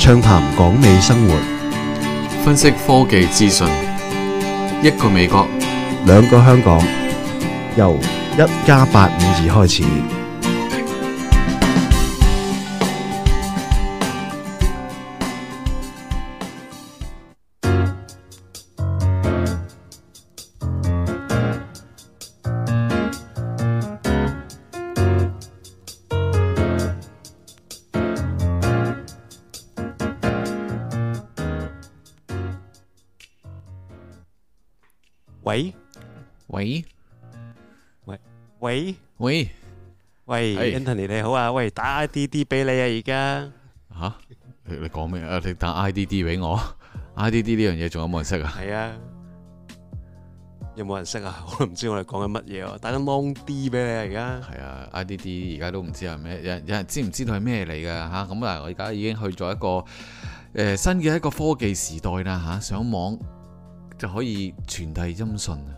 暢談港美生活， 分析科技資訊，一個美國， 兩個香港，由1+852開始。 喂喂喂喂喂，Anthony 你好啊！喂，打 IDD 俾你啊！而家吓你講咩啊？你打 IDD 俾我？IDD 呢樣嘢仲有冇人識啊？ 係啊，有冇人識啊？我都唔知我哋講緊乜嘢喎！打緊 Long D 俾你啊！而家係啊，IDD 而家都唔知係咩，有人知唔知道係咩嚟㗎吓？咁啊，我而家已經去咗一個新嘅一個科技時代啦吓，上網就可以傳遞音訊啊！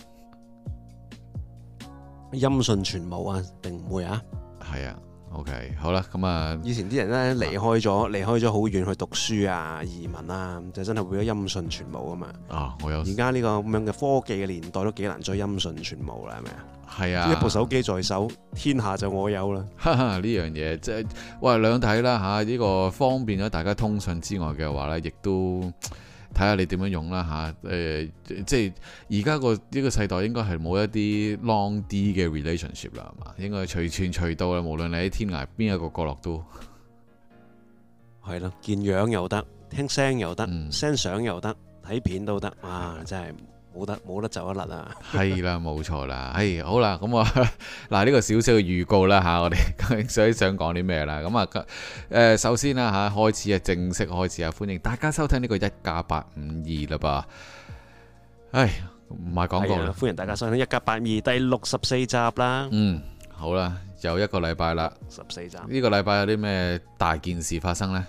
音訊傳無啊？定唔會啊？ 係啊 ，OK， 好啦，咁啊， 以前啲人咧離開咗好遠去讀書啊、移民啊，就真係會有音訊傳無啊嘛。 啊，我有。 而家呢個咁樣嘅科技嘅年代都幾難再音訊傳無啦，係咪啊？ 係啊， 一部手機在手，天下就我有啦。 哈哈，呢樣嘢即係喂兩睇啦嚇，呢個方便咗大家通訊之外嘅話咧，亦都睇下你點樣用啦嚇。即係而家個呢個世代應該係冇一啲 long D 嘅 relationship 啦，係嘛？應該隨傳隨到啦，無論你喺天涯邊一個角落都係咯，見樣又得，聽聲又得，send 相、 嗯、 又得，睇片都得，哇！真係冇得走得甩啊！ 係啦，冇錯啦。好啦，咁我嗱呢個少少嘅預告啦嚇，我哋究竟想講啲咩啦？咁啊首先啦嚇，開始啊，正式開始啊，歡迎大家收聽呢個1+852啦噃。唔係廣告啦， 歡迎大家收聽1+852第64集啦。 嗯，好啦，又一個禮拜啦 ，14集。 呢個禮拜有啲咩大件事發生呢？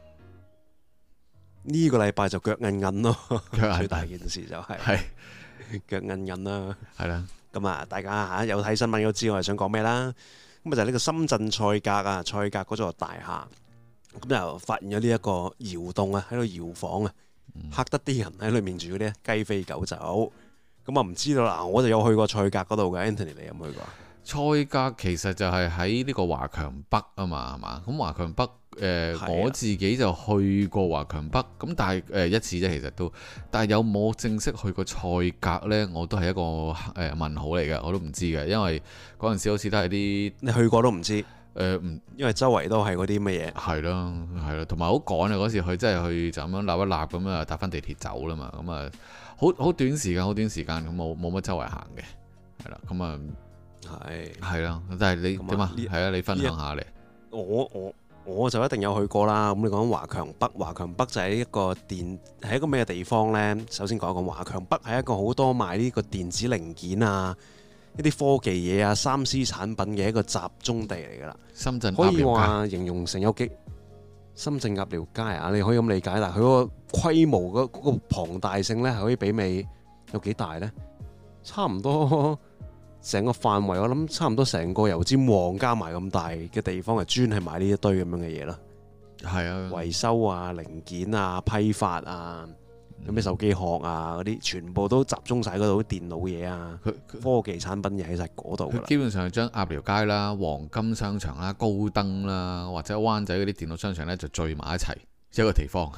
呢個禮拜就腳韌韌咯， 腳最大件事就係腳韌韌啦， 係啦。 咁啊，大家嚇有睇新聞都知我係想講咩啦。咁啊就係呢個深圳賽格啊，賽格嗰座大廈，咁就發現咗呢一個窑洞啊，喺度搖晃啊，嚇得啲人喺裏面住嗰啲雞飛狗走。咁啊唔知道啦，我就有去過賽格嗰度嘅。Anthony 你有冇去過？ 賽格其實就係喺呢個華強北啊嘛，係嘛？咁華強北我自己就去過華強北，咁但係一次啫，其實都，但係有冇正式去過賽格呢？我都係一個問號嚟嘅，我都唔知嘅，因為嗰陣時好似都係啲你去過都唔知唔， 因為周圍都係嗰啲乜嘢， 係咯係咯，同埋好趕啊！嗰時去真係去就咁樣立一立咁啊，搭翻地鐵走啦嘛，咁啊好短時間咁冇乜周圍行嘅，係啦，咁啊係啦，但係你點啊？係啊，你分享下嚟。 我就一定有去過啦。咁你講華強北，華強北就係一個咩地方呢？首先講一講華強北係一個好多賣呢個電子零件啊，一啲科技嘢啊、3C 產品嘅一個集中地嚟噶啦。 深圳可以話形容成有幾深圳鴨寮街啊，你可以咁理解。但係佢嗰個規模嗰個龐大性呢，係可以媲美有幾大呢？差唔多。成個範圍我諗差唔多成個油尖旺加埋咁大嘅地方，係專係買呢一堆咁樣嘅嘢咯。係啊，維修啊、零件啊、批發啊、有咩手機殼啊嗰啲，全部都集中晒嗰度。啲電腦嘢啊，科技產品嘢喺晒嗰度。 基本上係將鴨寮街啦、黃金商場啦、高登啦，或者灣仔嗰啲電腦商場呢，就聚埋一齊一個地方。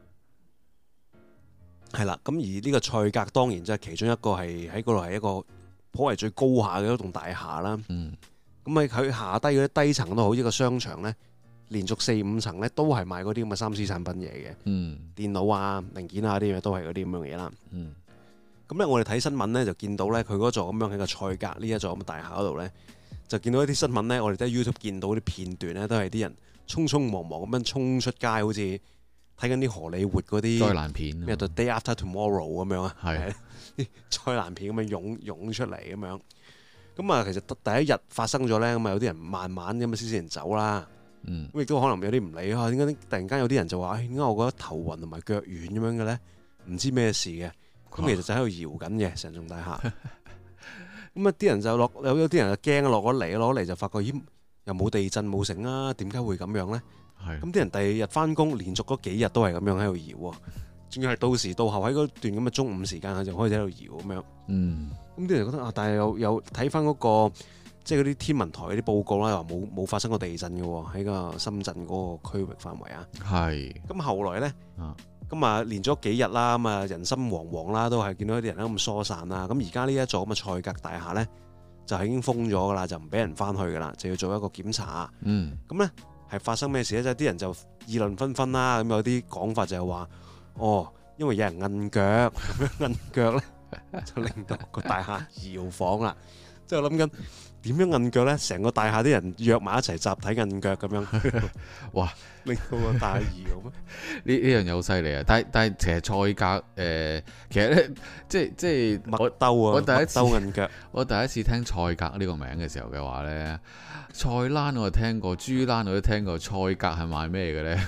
係啦，咁而呢個賽格當然即係其中一個係喺嗰度係一個頗為最高下嘅一棟大廈啦，咁喺佢下低嗰啲低層都好，一個商場呢，連續4-5層呢都係賣嗰啲咁嘅3C產品嘢嘅，電腦啊、零件啊啲嘢都係嗰啲咁樣嘢啦。咁咧我哋睇新聞呢，就見到呢，佢嗰座咁樣喺個賽格呢一座咁嘅大廈嗰度呢，就見到一啲新聞呢，我哋喺 YouTube 見到啲片段呢，都係啲人匆匆忙忙咁樣衝出街，好似睇緊啲荷里活嗰啲災難片， 咩 The Day After Tomorrow 咁樣啊， 係啲災難片咁樣湧出嚟咁樣。咁啊，其實第一日發生咗呢，咁啊有啲人慢慢咁啊先人走啦。咁亦都可能有啲唔理啊，點解突然間有啲人就話，點解我覺得頭暈同埋腳軟咁樣嘅咧？唔知咩事嘅。咁其實就喺度搖緊嘅成棟大廈。咁啊啲人就有啲人就驚落咗嚟就發覺咦又冇地震冇成啊？點解會咁樣咧？ 咁啲人第二日翻工，連續嗰幾日都係咁樣喺度搖啊，仲要係到時到後喺嗰段咁嘅中午時間，佢就開始喺度搖咁樣。咁啲人覺得啊，但係有睇翻嗰個即係嗰啲天文台嗰啲報告啦，話冇發生過地震嘅喎，喺個深圳嗰個區域範圍啊。 係。 咁後來咧，咁啊連咗幾日啦，咁啊人心惶惶啦，都係見到啲人咁疏散啦。咁而家呢一座咁嘅賽格大廈咧，就係已經封咗噶啦，就唔俾人翻去噶啦，就要做一個檢查。咁咧係發生咩事咧？即係啲人就議論紛紛啦。咁有啲講法就係話，因為有人摁腳，咁樣摁腳咧就令到個大廈搖晃啦。即係我諗緊點樣摁腳咧？成個大廈啲人約埋一齊集體摁腳咁樣，哇！令到個大廈搖咩？ 呢樣嘢好犀利啊！但係其實賽格其實咧即係麥兜啊， 我第一次麥兜摁腳。我第一次聽賽格呢個名嘅時候嘅話咧，菜欄我聽過，豬欄我都聽過，賽格係賣咩嘅咧？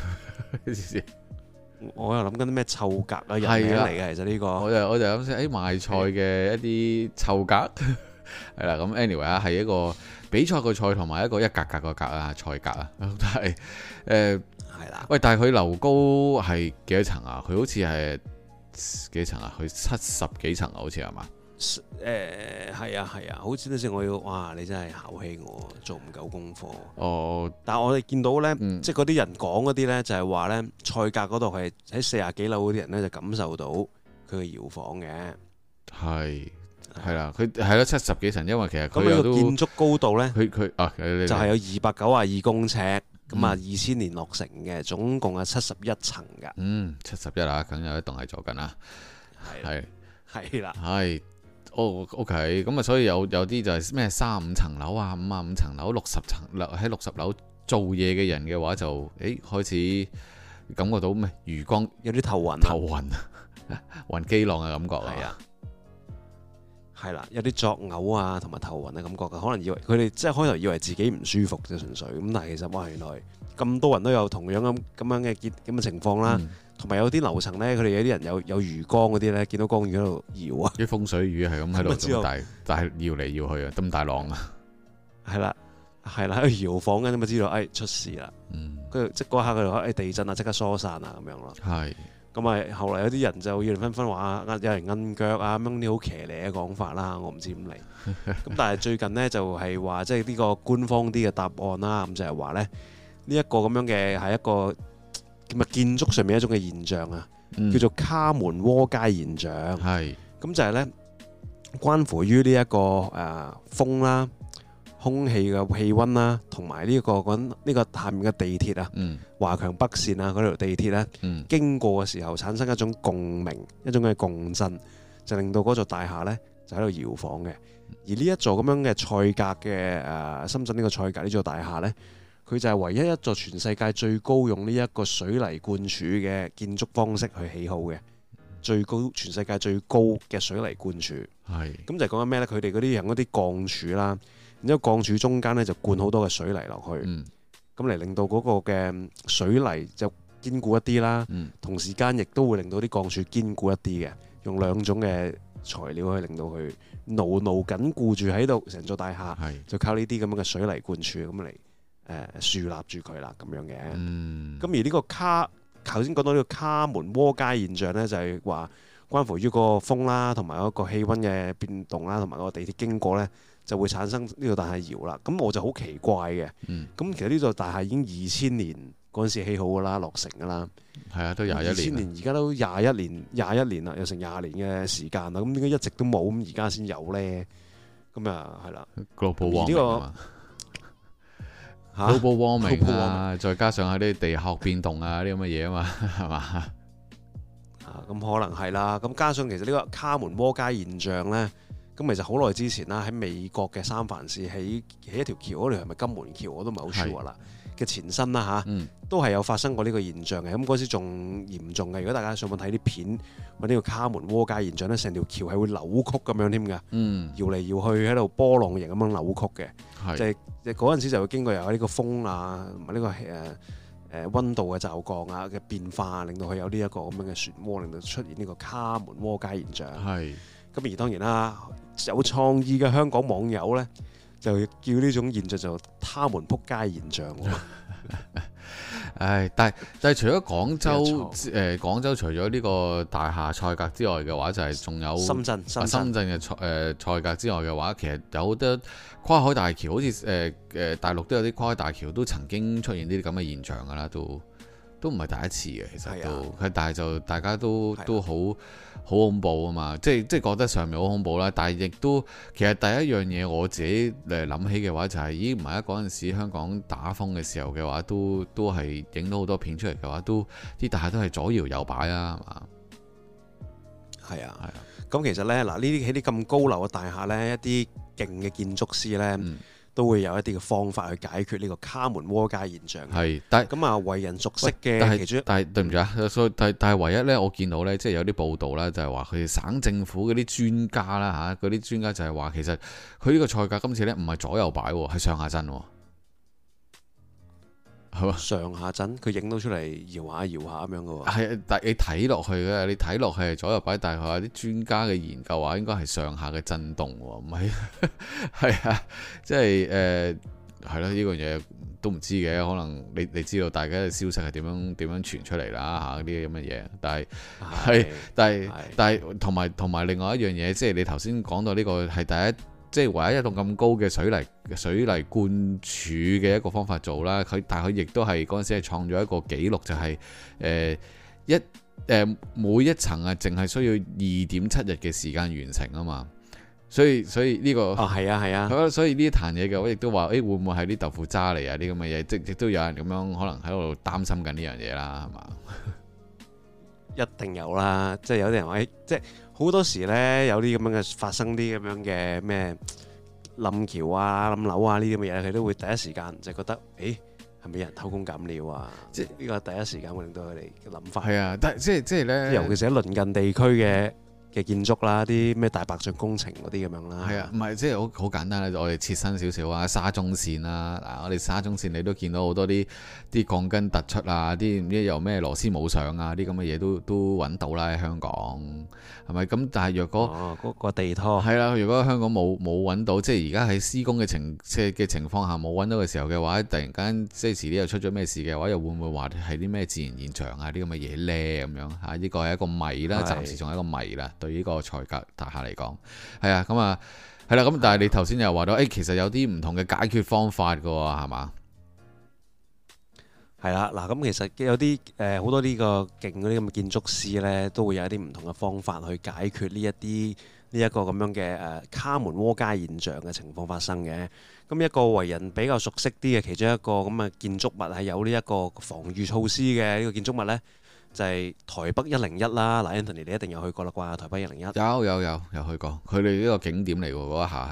我又諗緊啲咩臭格啊，人名嚟嘅其實呢個。我就諗先，賣菜嘅一啲臭格係啦。咁 anyway 啊，係一個比賽個賽同埋一個一格格個格啊，賽格啊，但係係啦。 喂，但係佢樓高係幾多層啊？佢好似係幾層啊？佢70幾層啊？好似係嘛？ 係啊，好似嗰時我要，哇！你真係考起我，做唔夠功課。但係我哋見到呢，即係嗰啲人講嗰啲呢，就係話呢，賽格嗰度係喺40幾樓嗰啲人呢，就感受到佢嘅搖晃嘅。係啦，佢係咯70幾層，因為其實佢有建築高度呢，佢就係有292公尺，咁啊2000年落成嘅，總共係71層㗎。 71啊，梗有一棟係做緊啦。 係啦。 OK， 咁啊，所以有啲就係咩35層樓啊、55層樓、60層樓喺60樓做嘢嘅人嘅話就，開始感覺到咩餘光有啲頭暈， 暈機浪嘅感覺啊， 係啦，有啲作嘔啊，同埋頭暈嘅感覺嘅，可能以為佢哋即係開頭以為自己唔舒服啫，純粹咁，但係其實哇，原來咁多人都有同樣咁樣嘅情況啦。同埋有啲樓層咧，佢哋有啲人有魚缸嗰啲咧，見到缸魚喺度搖啊！ 啲風水魚係咁喺度咁大，但係搖嚟搖去啊，咁大浪啊！ 係啦，喺度搖晃緊，咁啊知道出事啦。跟住即嗰刻佢哋話地震啊，即刻疏散啊咁樣咯。 係。 咁啊，後來有啲人就議論紛紛話有人摁腳啊，咁樣啲好騎呢嘅講法啦，我唔知點嚟。咁但係最近呢，就係話即係呢個官方啲嘅答案啦，咁就係話咧呢一個咁樣嘅係一個。咁啊，建築上面一種嘅現象啊，叫做卡門窩街現象。咁就係咧，關乎於呢一個風啦、空氣嘅氣温啦，同埋呢個下面嘅地鐵啊，華強北線啊嗰條地鐵咧，經過嘅時候產生一種共鳴，一種嘅共振，就令到嗰座大廈咧就喺度搖晃嘅。而呢一座咁樣嘅賽格嘅深圳呢個賽格呢座大廈咧。佢就係唯一一座全世界最高用呢一個水泥灌柱嘅建築方式去起好嘅，全世界最高嘅水泥灌柱。咁就係講緊咩呢？佢哋嗰啲用嗰啲鋼柱啦，然之後鋼柱中間呢就灌好多嘅水泥落去，咁嚟令到嗰個嘅水泥就堅固一啲啦。同時間亦都會令到啲鋼柱堅固一啲嘅，用兩種嘅材料去令到佢牢緊固住喺度，成座大廈就靠呢啲咁樣嘅水泥灌柱咁嚟。樹立住佢啦，咁樣嘅。咁而呢個頭先講到呢個卡門窩街現象呢，就係話關乎於個風啦，同埋嗰個氣温嘅變動啦，同埋個地鐵經過呢，就會產生呢個大廈搖啦。咁我就好奇怪嘅。咁其實呢座大廈已經2000年嗰陣時起好噶啦，落成噶啦。 係啊，都21年。 2000年而家都21年啦，有成20年嘅時間啦。咁點解一直都冇？咁而家先有呢？咁啊，係啦。 Global warming global warming 啊，再加上喺啲地殼變動啊，啲咁嘅嘢啊嘛，係嘛？ 咁可能係啦。咁加上其實呢個卡門窩街現象咧，咁其實好耐之前啦，喺美國嘅三藩市起一條橋，嗰條係咪金門橋我都唔係好 sure 啦嘅前身啦嚇，都係有發生過呢個現象嘅。咁嗰時仲嚴重嘅。如果大家上網睇啲片，揾呢個卡門窩街現象咧，成條橋係會扭曲咁樣添㗎，搖嚟搖去喺度波浪形咁樣扭曲嘅。即係嗰陣時就會經過有呢個風啊，同埋呢個溫度嘅驟降啊嘅變化，令到佢有呢一個咁樣嘅漩渦，令到出現呢個卡門窩街現象。咁而當然啦，有創意嘅香港網友咧，就叫呢種現象做他們撲街現象。 唉，但係除咗廣州廣州除咗呢個大廈賽格之外嘅話，就係仲有深圳嘅賽格之外嘅話，其實有好多跨海大橋，好似大陸都有啲跨海大橋都曾經出現呢啲咁嘅現象㗎啦，都唔係第一次嘅，其實都，但係就大家都好恐怖啊嘛，即係覺得上面好恐怖啦，但係亦都其實第一樣嘢我自己諗起嘅話就係，咦唔係啊，嗰陣時香港打風嘅時候嘅話，都係影到好多片出嚟嘅話，都啲大廈都係左搖右擺啊，係嘛？ 係啊，咁其實呢，嗱呢啲喺啲咁高樓嘅大廈呢，一啲勁嘅建築師呢，都會有一啲嘅方法去解決呢個卡門窩街現象。係，但係咁啊，為人熟悉嘅其中，但係對唔住啊，但係唯一呢，我見到呢，即係有啲報道啦，就係話佢哋省政府嗰啲專家啦嚇，嗰啲專家就係話其實佢呢個賽格今次呢，唔係左右擺喎，係上下震喎。係嘛？上下震，佢影到出嚟搖下搖下咁樣嘅喎。係，但係你睇落去嘅，你睇落去係左右擺，但係佢話啲專家嘅研究話應該係上下嘅震動喎，唔係係啊，即係係咯，呢個嘢都唔知嘅，可能你知道大家嘅消息係點樣傳出嚟啦嚇，啲咁嘅嘢，但係同埋另外一樣嘢，即係你頭先講到呢個係第一。即係唯一一棟咁高嘅水泥灌柱嘅一個方法做啦，但係佢亦都係嗰陣時係創咗一個紀錄，就係每一層啊，淨係需要2.7日嘅時間完成啊嘛，所以呢個係啊，所以呢一壇嘢嘅我亦都話，會唔會係啲豆腐渣嚟啊？啲咁嘅嘢，即亦都有人咁樣可能喺度擔心緊呢樣嘢啦，係嘛？一定有啦，即係有啲人話，即係好多時呢，有啲咁樣嘅發生啲咁樣嘅咩冧橋啊、冧樓啊呢啲咁嘅嘢，佢都會第一時間就覺得，係咪有人偷工減料啊？即係呢個第一時間會令到佢哋嘅諗法。係啊，但係即係咧，尤其是喺鄰近地區嘅建築啦，啲咩大白象工程嗰啲咁樣啦。係啊，唔係即係好簡單啦，我哋切身少少啊，沙中線啦，嗱我哋沙中線你都見到好多啲鋼筋突出啊，啲唔知又咩螺絲冇上啊，啲咁嘅嘢都揾到啦喺香港，係咪？咁但係若果嗰個地拖係啦，如果香港冇揾到，即係而家喺施工嘅情況下冇揾到嘅時候嘅話，突然間即係遲啲又出咗咩事嘅話，又會唔會話係啲咩自然現象啊？啲咁嘅嘢呢？咁樣嚇？呢個係一個謎啦，暫時仲係一個謎啦。對呢個賽格大廈嚟講，係啊，咁啊，係啦，咁但係你頭先又話到，其實有啲唔同嘅解決方法㗎喎，係嘛？係啦，嗱，咁其實有啲好多呢個勁嗰啲咁嘅建築師呢，都會有一啲唔同嘅方法去解決呢一個咁樣嘅卡門窩街現象嘅情況發生嘅。咁一個為人比較熟悉啲嘅其中一個咁嘅建築物係有呢一個防禦措施嘅呢個建築物呢，就係台北101啦。嗱，Anthony 你一定有去過啦啩？台北101有去過，佢哋呢個景點嚟喎，嗰一下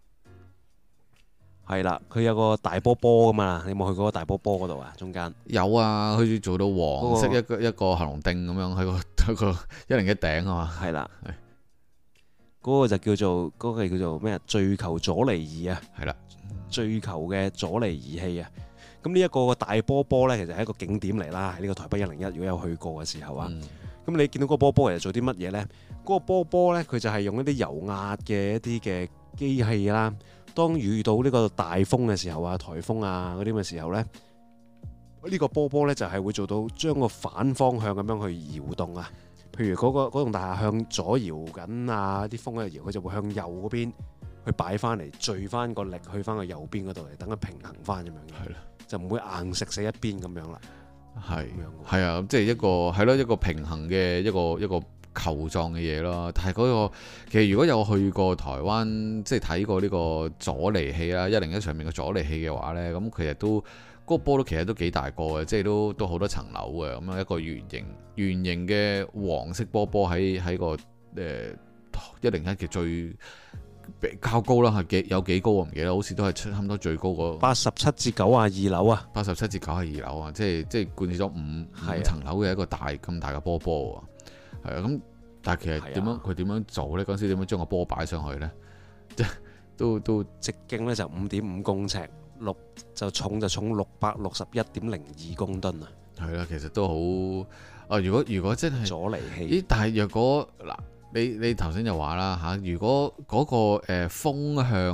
係啦，佢有個大波波噶嘛，你有冇去過個大波波嗰度啊？中間有啊，好似做到黃色一個行龍釘咁樣喺個101頂啊嘛。係啦，嗰個就叫做咩啊？墜球阻離儀啊，係啦，墜球嘅阻離儀器啊。咁呢一個大波波呢，其實係一個景點嚟啦，喺呢個台北101，如果有去過嘅時候啊，咁你見到嗰個波波其實做啲乜嘢呢？嗰個波波呢，佢就係用一啲油壓嘅一啲嘅機器啦。當遇到呢個大風嘅時候啊、颱風啊嗰啲嘅時候呢，呢個波波呢就係會做到將個反方向咁樣去搖動啊。譬如嗰棟大廈向左搖緊啊，啲風喺度搖，佢就會向右嗰邊去擺翻嚟，聚翻個力去翻個右邊嗰度嚟，等佢平衡翻咁樣嘅。係啦，就唔會硬食死一邊咁樣啦。係啊，即係一個平衡嘅一個球狀嘅嘢咯，但係嗰個其實如果有去過台灣，即係睇過呢個阻離器啦，101上面嘅阻離器嘅話呢，咁其實都嗰個波都其實都幾大個嘅，即係都好多層樓嘅，咁樣一個圓形嘅黃色波喺個101嘅最較高啦，係有幾高我唔記得，好似都係差唔多最高個87至92樓啊，87至92樓啊，即係貫徹咗五層樓嘅一個咁大嘅波波。係啊，咁但係其實佢點樣做呢？嗰陣時點樣將個波擺上去呢？即係都直徑呢就5.5公尺，重661.02公噸啊！係啦，其實都好啊！如果真係阻離器，但係若果嗱，你頭先就話啦嚇，如果嗰個風向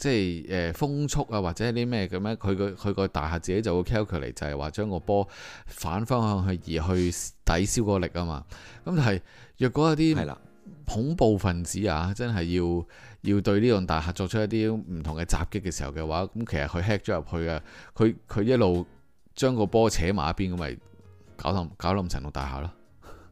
即係風速啊，或者啲咩咁樣，佢個大廈自己就會 calculate 就係話將個波反方向去移去抵消個力啊嘛。咁但係若果有啲恐怖分子啊，真係要對呢棟大廈作出一啲唔同嘅襲擊嘅時候嘅話，咁其實佢 hack 咗入去啊，佢一路將個波扯埋一邊，咁咪搞冧成棟大廈咯。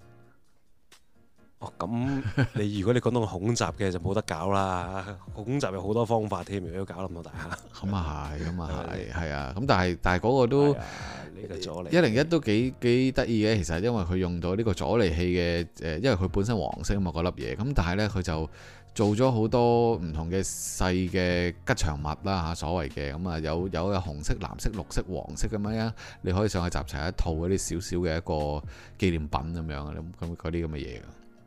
哦，咁如果你講到恐襲嘅就冇得搞啦，恐襲有好多方法添，如果要搞冧到大廈。咁啊係， 係啊，咁但係嗰個都101都幾得意嘅，其實因為佢用到呢個阻離器嘅因為佢本身黃色啊嘛嗰粒嘢，咁但係呢，佢就做咗好多唔同嘅細嘅吉祥物啦嚇，所謂嘅咁啊有紅色、藍色、綠色、黃色咁樣，你可以上去集齊一套嗰啲少少嘅一個紀念品咁樣咁嗰啲咁嘅嘢。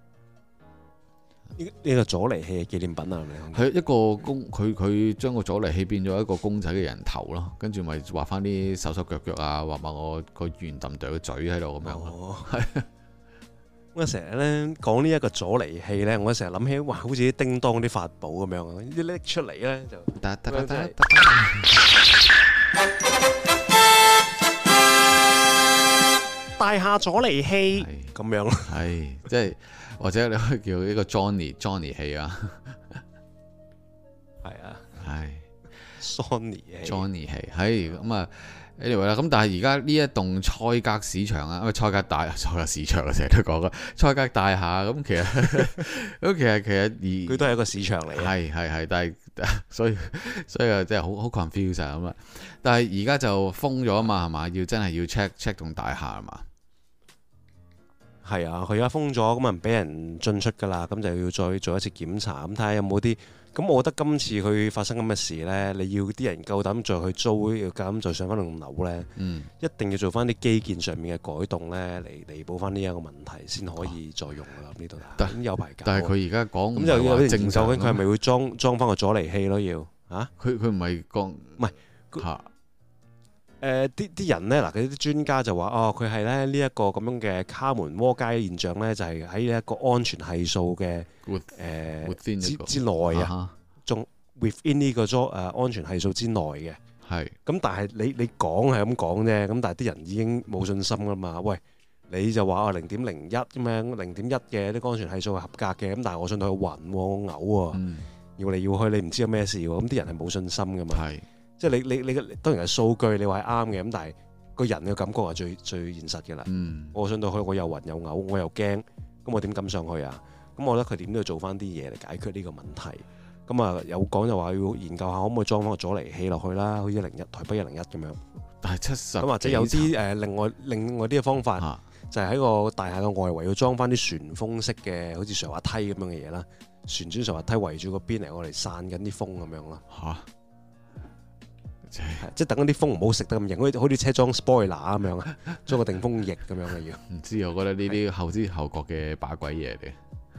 呢個阻離器嘅紀念品啊， 係一個佢將個阻離器變咗一個公仔嘅人頭咯，跟住咪畫翻啲手手腳腳啊，畫埋我個圓揼哚嘅嘴喺度咁樣。係我成日咧講呢一個阻離器咧，我成日諗起哇，好似啲叮當啲法寶咁樣啊，一拎出嚟咧就大廈阻離器咁樣咯， 係即係。或者你可以叫呢個 Johnny 器啊， 係啊， 係 Johnny 器，係咁啊 anyway 啦。咁但係而家呢一棟賽格市場啊，賽格市場啊，成日都講嘅賽格大廈咁，其實佢都係一個市場嚟嘅， 係，但係所以啊，真係好 confuse 咁啊。但係而家就封咗啊嘛，係嘛？真係要 check 棟大廈啊嘛。 係啊，佢而家封咗，咁啊唔俾人進出噶啦，咁就要再做一次檢查，咁睇下有冇啲。咁我覺得今次佢發生咁嘅事呢，你要啲人夠膽再去租，要夠膽再上翻棟樓呢，一定要做翻啲基建上面嘅改動呢，嚟彌補翻呢一個問題，先可以再用噶啦呢度。咁有排搞。但係佢而家講咁就有啲正究竟佢係咪會裝翻個阻離器咯？要嚇？佢唔係講唔係嚇。啲人呢，嗱，佢啲專家就話佢係咧呢一個咁樣嘅卡門窩街現象呢，就係喺一個安全係數嘅之內啊，仲 within 呢個安全係數之內嘅。係。咁但係你講係咁講啫，咁但係啲人已經冇信心噶嘛。喂，你就話0.01咁樣0.1嘅啲安全係數係合格嘅，咁但係我信到佢暈喎，我嘔喎，要嚟要去，你唔知有咩事喎，咁啲人係冇信心噶嘛。係。即係你當然係數據，你話係啱嘅，咁但係個人嘅感覺係最現實嘅啦。我上到去，我又暈又嘔，我又驚，咁我點敢上去啊？咁我覺得佢點都要做翻啲嘢嚟解決呢個問題。咁啊有講就話要研究下可唔可以裝翻個阻離器落去啦，好似台北101咁樣。但係70咁或者有啲另外啲嘅方法，就係喺個大廈嘅外圍要裝翻啲旋風式嘅，好似上滑梯咁樣嘅嘢啦，旋轉上滑梯圍住個邊嚟，我嚟散緊啲風咁樣啦。即係等嗰啲風唔好食得咁型，好似車裝 spoiler 咁樣啊，裝個定風翼咁樣嘅要。唔知我覺得呢啲後知後覺嘅把鬼嘢嚟。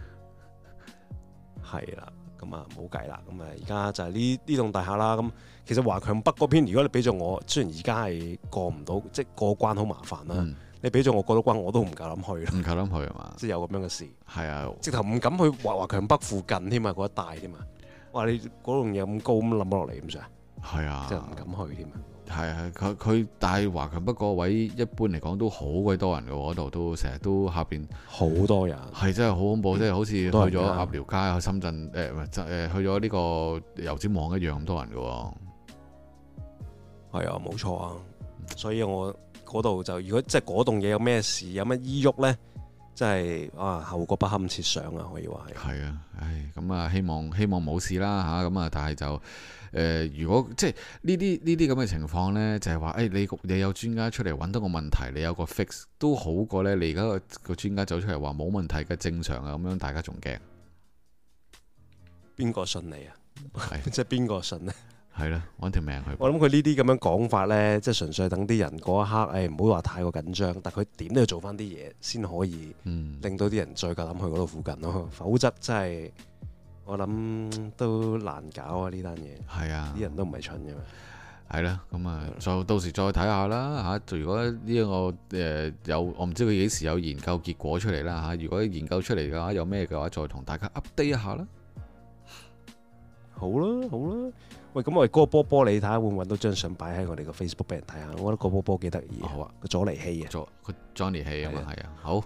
係啦，咁啊冇計啦，咁啊而家就係呢棟大廈啦。咁其實華強北嗰邊，如果你俾咗我，雖然而家係過唔到，即係過關好麻煩啦。你俾咗我過到關，我都唔夠膽去。唔夠膽去係嘛？即係有咁樣嘅事。係啊，直頭唔敢去華強北附近添啊，嗰一帶添啊。哇！你嗰棟嘢咁高咁冧落嚟咁上。係啊，即係唔敢去添啊！係啊，佢但係華強北嗰位一般嚟講都好鬼多人嘅喎，嗰度都成日都下邊好多人，係真係好恐怖，即係好似去咗鴨寮街、去深圳去咗呢個油尖旺一樣咁多人嘅喎。係啊，冇錯啊！所以我嗰度就如果即係嗰棟嘢有咩事，有乜依喐咧，真係後果不堪設想啊！可以話係。係啊，唉，咁啊，希望冇事啦嚇，咁啊，但係就。如果即係呢啲咁嘅情況呢，就係話你有專家出嚟揾到個問題，你有個 fix 都好過呢。你而家個專家走出嚟話冇問題嘅正常啊，咁樣大家仲驚？邊個信你啊？即係邊個信呢？係啦，揾條命去。我諗佢呢啲咁樣講法呢，即係純粹等啲人嗰一刻，唔好話太過緊張，但係佢點都要做翻啲嘢先可以令到啲人再夠膽去嗰度附近咯，否則真係。我諗都難搞啊！呢單嘢係啊，啲人都唔係蠢嘅嘛。係啦，咁啊，就到時再睇下啦嚇。如果呢個有，我唔知佢幾時有研究結果出嚟啦嚇。如果研究出嚟嘅話，有咩嘅話，再同大家 update 一下啦。 好啦好啦。喂，咁我哋嗰個波波，你睇下會唔會揾到張相擺喺我哋個 Facebook 俾人睇下？我覺得個波波幾得意。 好啊， 個佐尼希啊， 個 Johnny 希啊嘛，係啊，好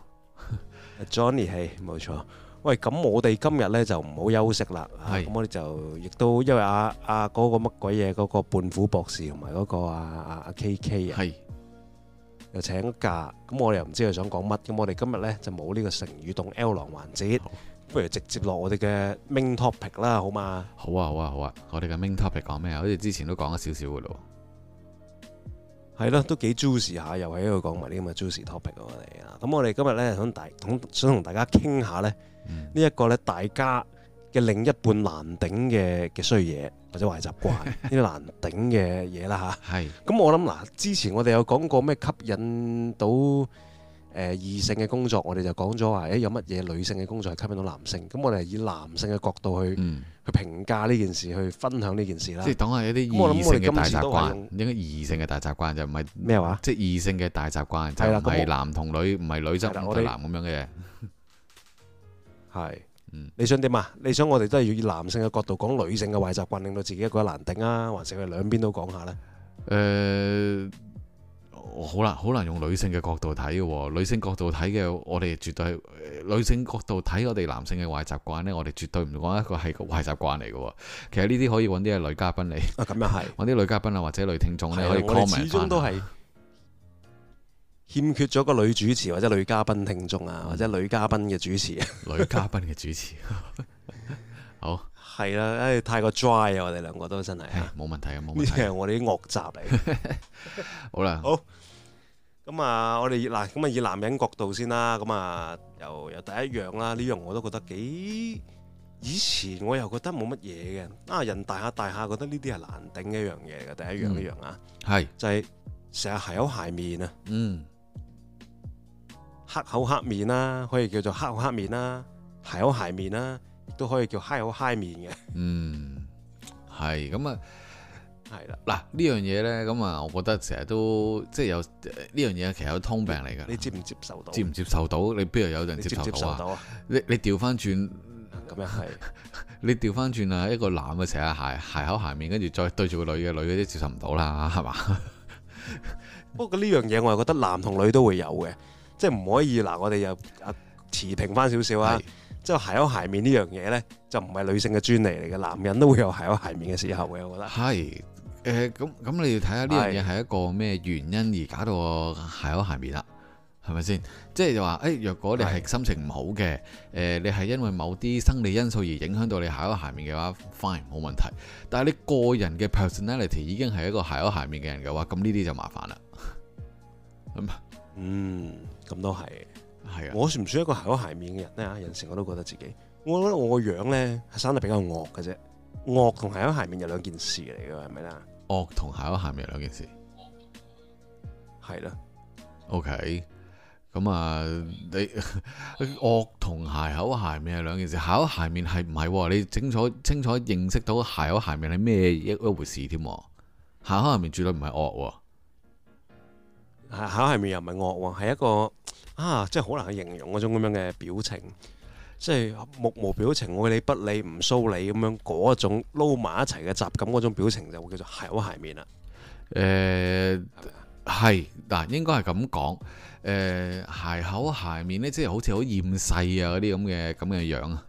Johnny 希冇錯。喂，咁我哋今日咧就唔好休息啦。咁我哋就亦都因為嗰個乜鬼嘢嗰個胖虎博士同埋嗰個阿 KK 啊，又請假。咁我哋又唔知佢想講乜。咁我哋今日咧就冇呢個成語動 L 廊環節。不如直接落我哋嘅 main topic 啦，好嘛？ 好啊！我哋嘅 main topic 講咩啊？好似之前都講咗少少嘅咯。 係咯，都幾 juicy 下，又喺度講埋啲咁嘅 juicy topic 我哋啊。咁我哋今日咧想同大家傾下咧，呢一個咧大家嘅另一半難頂嘅衰嘢或者壞習慣，呢啲難頂嘅嘢啦吓。係。咁我諗嗱，之前我哋有講過咩吸引到異性嘅工作，我哋就講咗話，有乜嘢女性嘅工作係吸引到男性？咁我哋係以男性嘅角度去評價呢件事，去分享呢件事啦。 即係講下一啲異性嘅大習慣，應該異性嘅大習慣就唔係咩話？即係異性嘅大習慣就唔係男同女，唔係女執唔對男咁樣嘅嘢。 係，你想點啊？你想我哋都係要以男性嘅角度講女性嘅壞習慣，令到自己一個難頂啊，還是佢兩邊都講下呢？ 好難用女性嘅角度睇嘅喎，女性角度睇嘅，我哋絕對係女性角度睇我哋男性嘅壞習慣呢，我哋絕對唔講一個係個壞習慣嚟嘅喎。其實呢啲可以揾啲女嘉賓嚟，咁又係揾啲女嘉賓啊，或者女聽眾咧可以 comment 翻。始終都係欠缺咗個女主持或者女嘉賓聽眾啊，或者女嘉賓嘅主持。女嘉賓嘅主持，好。係啦，太過 dry 啊！我哋兩個都真係冇問題啊，冇問題。呢啲係我哋啲惡習嚟。好啦，好。咁啊，我哋以男人角度先啦。咁啊，由第一樣啦，呢樣我都覺得幾。以前我又覺得冇乜嘢嘅。人大下覺得呢啲係難頂嘅一樣嘢嘅。第一樣呢樣啊，係就係成日鞋口鞋面啊。黑口黑面啦，可以叫做黑口黑面啦，鞋口鞋面啦。都可以叫嗨口嗨面嘅，係咁啊，係啦。嗱呢樣嘢咧，咁啊，我覺得成日都即係有呢樣嘢，其實有通病嚟㗎。你接唔接受到？接唔接受到？你邊度有人接受到啊？你調翻轉咁樣係，你調翻轉啊！一個男嘅成日鞋口鞋面，跟住再對住個女嘅，女嘅都接受唔到啦，係嘛？不過呢樣嘢我係覺得男同女都會有嘅，即係唔可以嗱，我哋又持平翻少少啊。即係鞋口鞋面呢樣嘢咧，就唔係女性嘅專利嚟嘅，男人都會有鞋口鞋面嘅時候嘅，我覺得。係，咁你要睇下呢樣嘢係一個咩原因而搞到我鞋口鞋面啦，係咪先？即係話，若果你係心情唔好嘅，你係因為某啲生理因素而影響到你鞋口鞋面嘅話 ，fine 冇問題。但係你個人嘅 personality 已經係一個鞋口鞋面嘅人嘅話，咁呢啲就麻煩啦。咁都係。係啊，我算唔算一個鞋口鞋面嘅人咧？有陣時我都覺得自己，我覺得我個樣咧係生得比較惡嘅啫。惡同鞋口鞋面有兩件事嚟嘅，係咪啦？惡同鞋口鞋面有兩件事，係啦。OK，咁啊，你惡同鞋口鞋面係兩件事。鞋口鞋面係唔係？你清楚認識到鞋口鞋面係咩一回事添？鞋口鞋面絕對唔係惡，鞋口鞋面又唔係惡，係一個。即係好難去形容嗰種咁樣嘅表情，即係目無表情、愛理不理、唔騷你咁樣嗰種撈埋一齊嘅雜感嗰種表情就會叫做鞋口鞋面啦。係嗱，應該係咁講。鞋口鞋面咧，即係好似好厭世啊嗰啲咁嘅樣啊。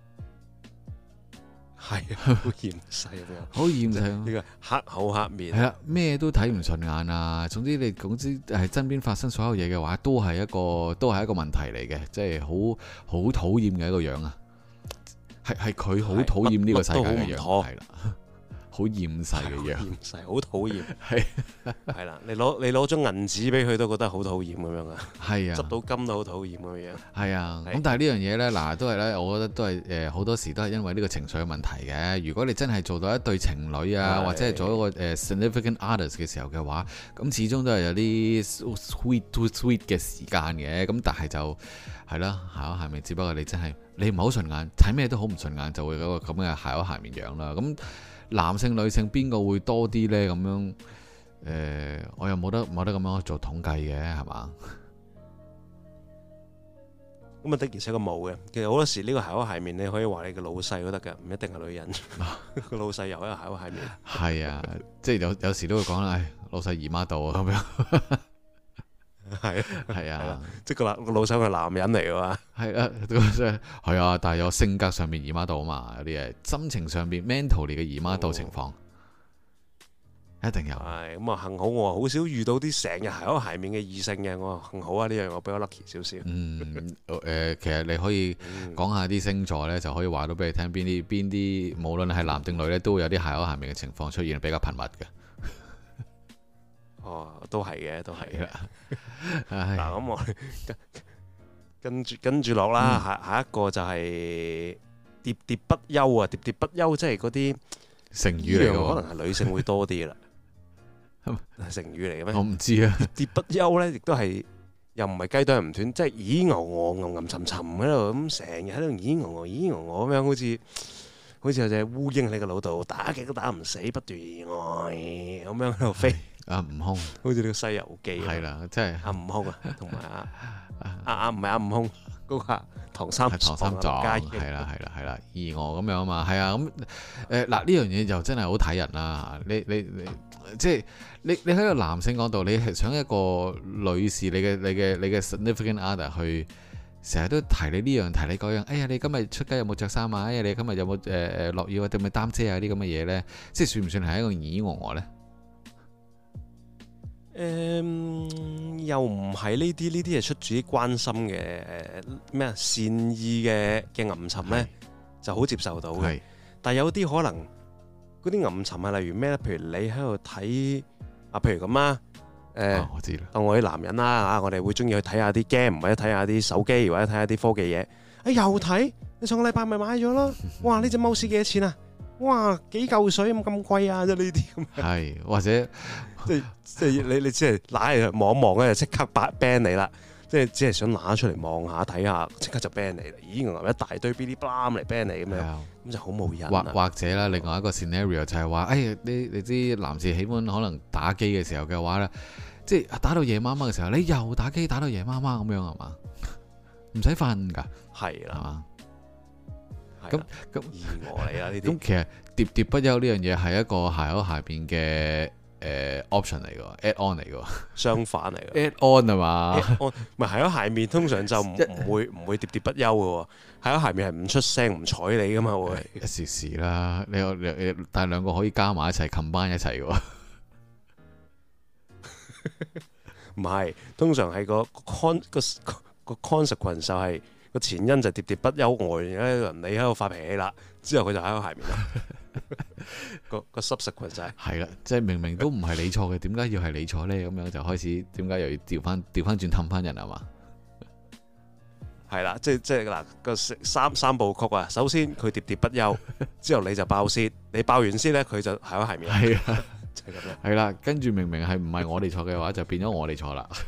係好厭世咁樣，好厭世呢個黑口黑面，係啦，咩都睇唔順眼啊！總之係身邊發生所有嘢嘅話，都係一個問題嚟嘅，即係好討厭嘅一個樣啊！係佢好討厭呢個世界嘅樣，係啦。好厭世嘅樣，厭世好討厭，係啦，你攞張銀紙俾佢都覺得好討厭咁樣啊，係啊，執到金都好討厭咁樣，係啊，咁但係呢樣嘢呢，嗱都係呢，我覺得都係好多時都係因為呢個情緒嘅問題嘅。如果你真係做到一對情侶啊，或者係做一個significant others 嘅時候嘅話，咁始終都係有啲 sweet to sweet 嘅時間嘅。咁但係就係啦，鞋口鞋面，只不過你真係你唔係好順眼，睇咩都好唔順眼，就會有個咁嘅鞋口鞋面樣啦。咁男性女性邊個會多啲呢？咁樣我又冇得咁樣做統計嘅，係嘛？ 咁啊的而且確冇嘅。其實好多時呢個鞋口鞋面你可以話你嘅老細都得㗎，唔一定係女人。個老細又一個鞋口鞋面。係啊，即係有時都會講啦，老細姨媽到啊咁樣。係啊， 即係個老細係男人嚟㗎嘛。 係啊，但係有性格上面姨媽到啊嘛，有啲嘢心情上面 mentally 嘅姨媽到情況。一定有， 係咁啊！幸好我好少遇到啲成日鞋口鞋面嘅異性嘅，我幸好啊！呢樣我比較 lucky 少少。 其實你可以講下啲星座呢，就可以話到俾你聽邊啲，無論係男定女呢，都會有啲鞋口鞋面嘅情況出現，比較頻密嘅。 哦，都係嘅，都係嘅。 嗱， 咁我跟住落啦，下一個就係喋喋不休啊！喋喋不休即係嗰啲成語嚟嘅， 可能係女性會多啲啦。係成語嚟嘅咩？ 我唔知啊。 喋喋不休咧，亦都係又唔係雞啄唔斷，即係咦牛我吟吟沉沉喺度咁，成日喺度咦牛我咦牛我咁樣，好似有隻烏蠅喺個腦度打極都打唔死，不斷咁樣喺度飛。 阿悟空， 好似呢個《西遊記》 係啦，即係阿悟空啊，同埋唔係阿悟空嗰個唐三藏， 係啦，而我咁樣啊嘛，係啊，咁嗱呢樣嘢就真係好睇人啦。你即係你喺個男性講到，你係想一個女士，你嘅 significant other 去成日都提你呢樣提你嗰樣。哎呀，你今日出街有冇着衫啊？哎呀，你今日有冇落雨啊？定咪擔遮啊？啲咁嘅嘢咧，即係算唔算係一個耳我咧？ 又唔係呢啲係出自於關心嘅咩善意嘅吟沉咧，就好接受到嘅。但係有啲可能嗰啲吟沉係例如咩咧？譬如你喺度睇啊，譬如咁啊， 我知啦。 當我啲男人啦嚇，我哋會中意去睇下啲 game，或者睇下啲手機，或者睇下啲科技嘢。又睇？你上個禮拜咪買咗咯？哇！呢隻 mouse 幾多錢啊？哇！幾嚿水咁貴啊？即係呢啲咁。係或者。 即係你只係拿嚟望一望咧，就即刻 ban 你啦！即係只係想拿出嚟望下睇下，即刻就 ban 你啦！咦，一大堆嗶哩吧嚟 ban 你咁樣，咁就好冇癮。 或者啦，另外一個 scenario 就係話，你知男士喜歡可能打機嘅時候嘅話咧，即係打到夜媽媽嘅時候，你又打機打到夜媽媽咁樣係嘛？唔使瞓㗎， 係啦，係嘛？ 咁意外嚟啦呢啲。 咁其實喋喋不休呢樣嘢係一個鞋口下邊嘅。option 嚟嘅 add on 嚟嘅， 相反嚟嘅 add on 係嘛？ 唔係喺鞋面通常就唔會喋喋不休嘅，喺鞋面係唔出聲唔睬你噶嘛會。 一時啦，你但係兩個可以加埋一齊 combine 一齊嘅。 唔係，通常係個 consequence 就係個前因就喋喋不休外，你喺度發脾氣啦，之後佢就喺個鞋面啦。個 subsequent 就係啦，即係明明都唔係你錯嘅，點解要係你錯咧？咁樣就開始，點解又要調翻轉氹翻人係嘛？ 係啦，即係嗱個三部曲啊！首先佢喋喋不休，之後你就爆泄，你爆完先咧，佢就喺個鞋面。 係啊，就係咁樣。係啦，跟住明明係唔係我哋錯嘅話，就變咗我哋錯啦。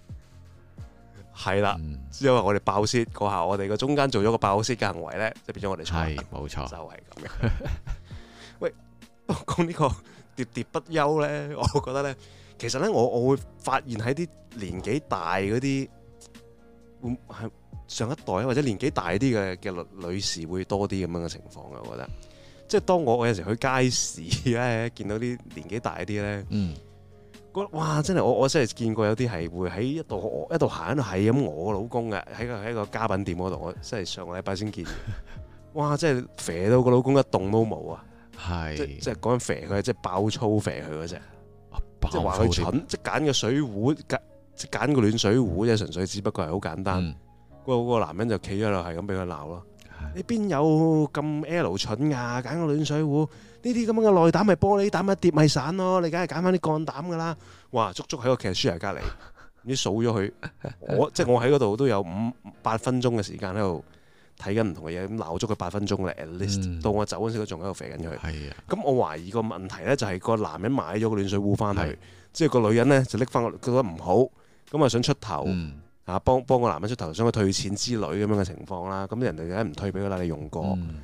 係啦，之後我哋爆泄嗰下，我哋個中間做咗個爆泄嘅行為咧，就變咗我哋錯。 係冇錯， 就係咁樣。喂，講呢個喋喋不休咧，我覺得咧，其實咧，我會發現喺啲年紀大嗰啲，會係上一代或者年紀大啲嘅女士會多啲咁樣嘅情況嘅，我覺得。即係當我有時去街市咧，見到啲年紀大啲咧，覺得哇！真係我真係見過有啲係會喺一度行喺度係咁我老公嘅，喺個家品店嗰度，我真係上個禮拜先見。哇！真係肥到個老公一動都冇啊！即係講緊肥佢，即係爆粗肥佢嗰隻，即係話佢蠢，即係揀個水壺，即係揀個暖水壺，即係純粹只不過係好簡單。嗰個男人就企咗度，係咁俾佢鬧咯。你邊有咁 L 蠢噶？揀個暖水壺，呢啲咁樣嘅內膽咪玻璃膽一跌咪散咯。你梗係揀翻啲鋼膽噶啦。哇！足喺個劇書隔離，唔知數咗佢。即係我喺嗰度都有8分鐘嘅時間喺度睇緊唔同嘅嘢，咁鬧足佢8分鐘啦。at least 到我走嗰時都仲喺度肥緊佢。咁我懷疑個問題咧就係個男人買咗個暖水壺翻去，即係個女人咧就拎翻，覺得唔好，咁啊想出頭。幫個男人出頭，想佢退錢之類咁樣嘅情況啦。咁人哋梗係唔退俾佢啦，你用過。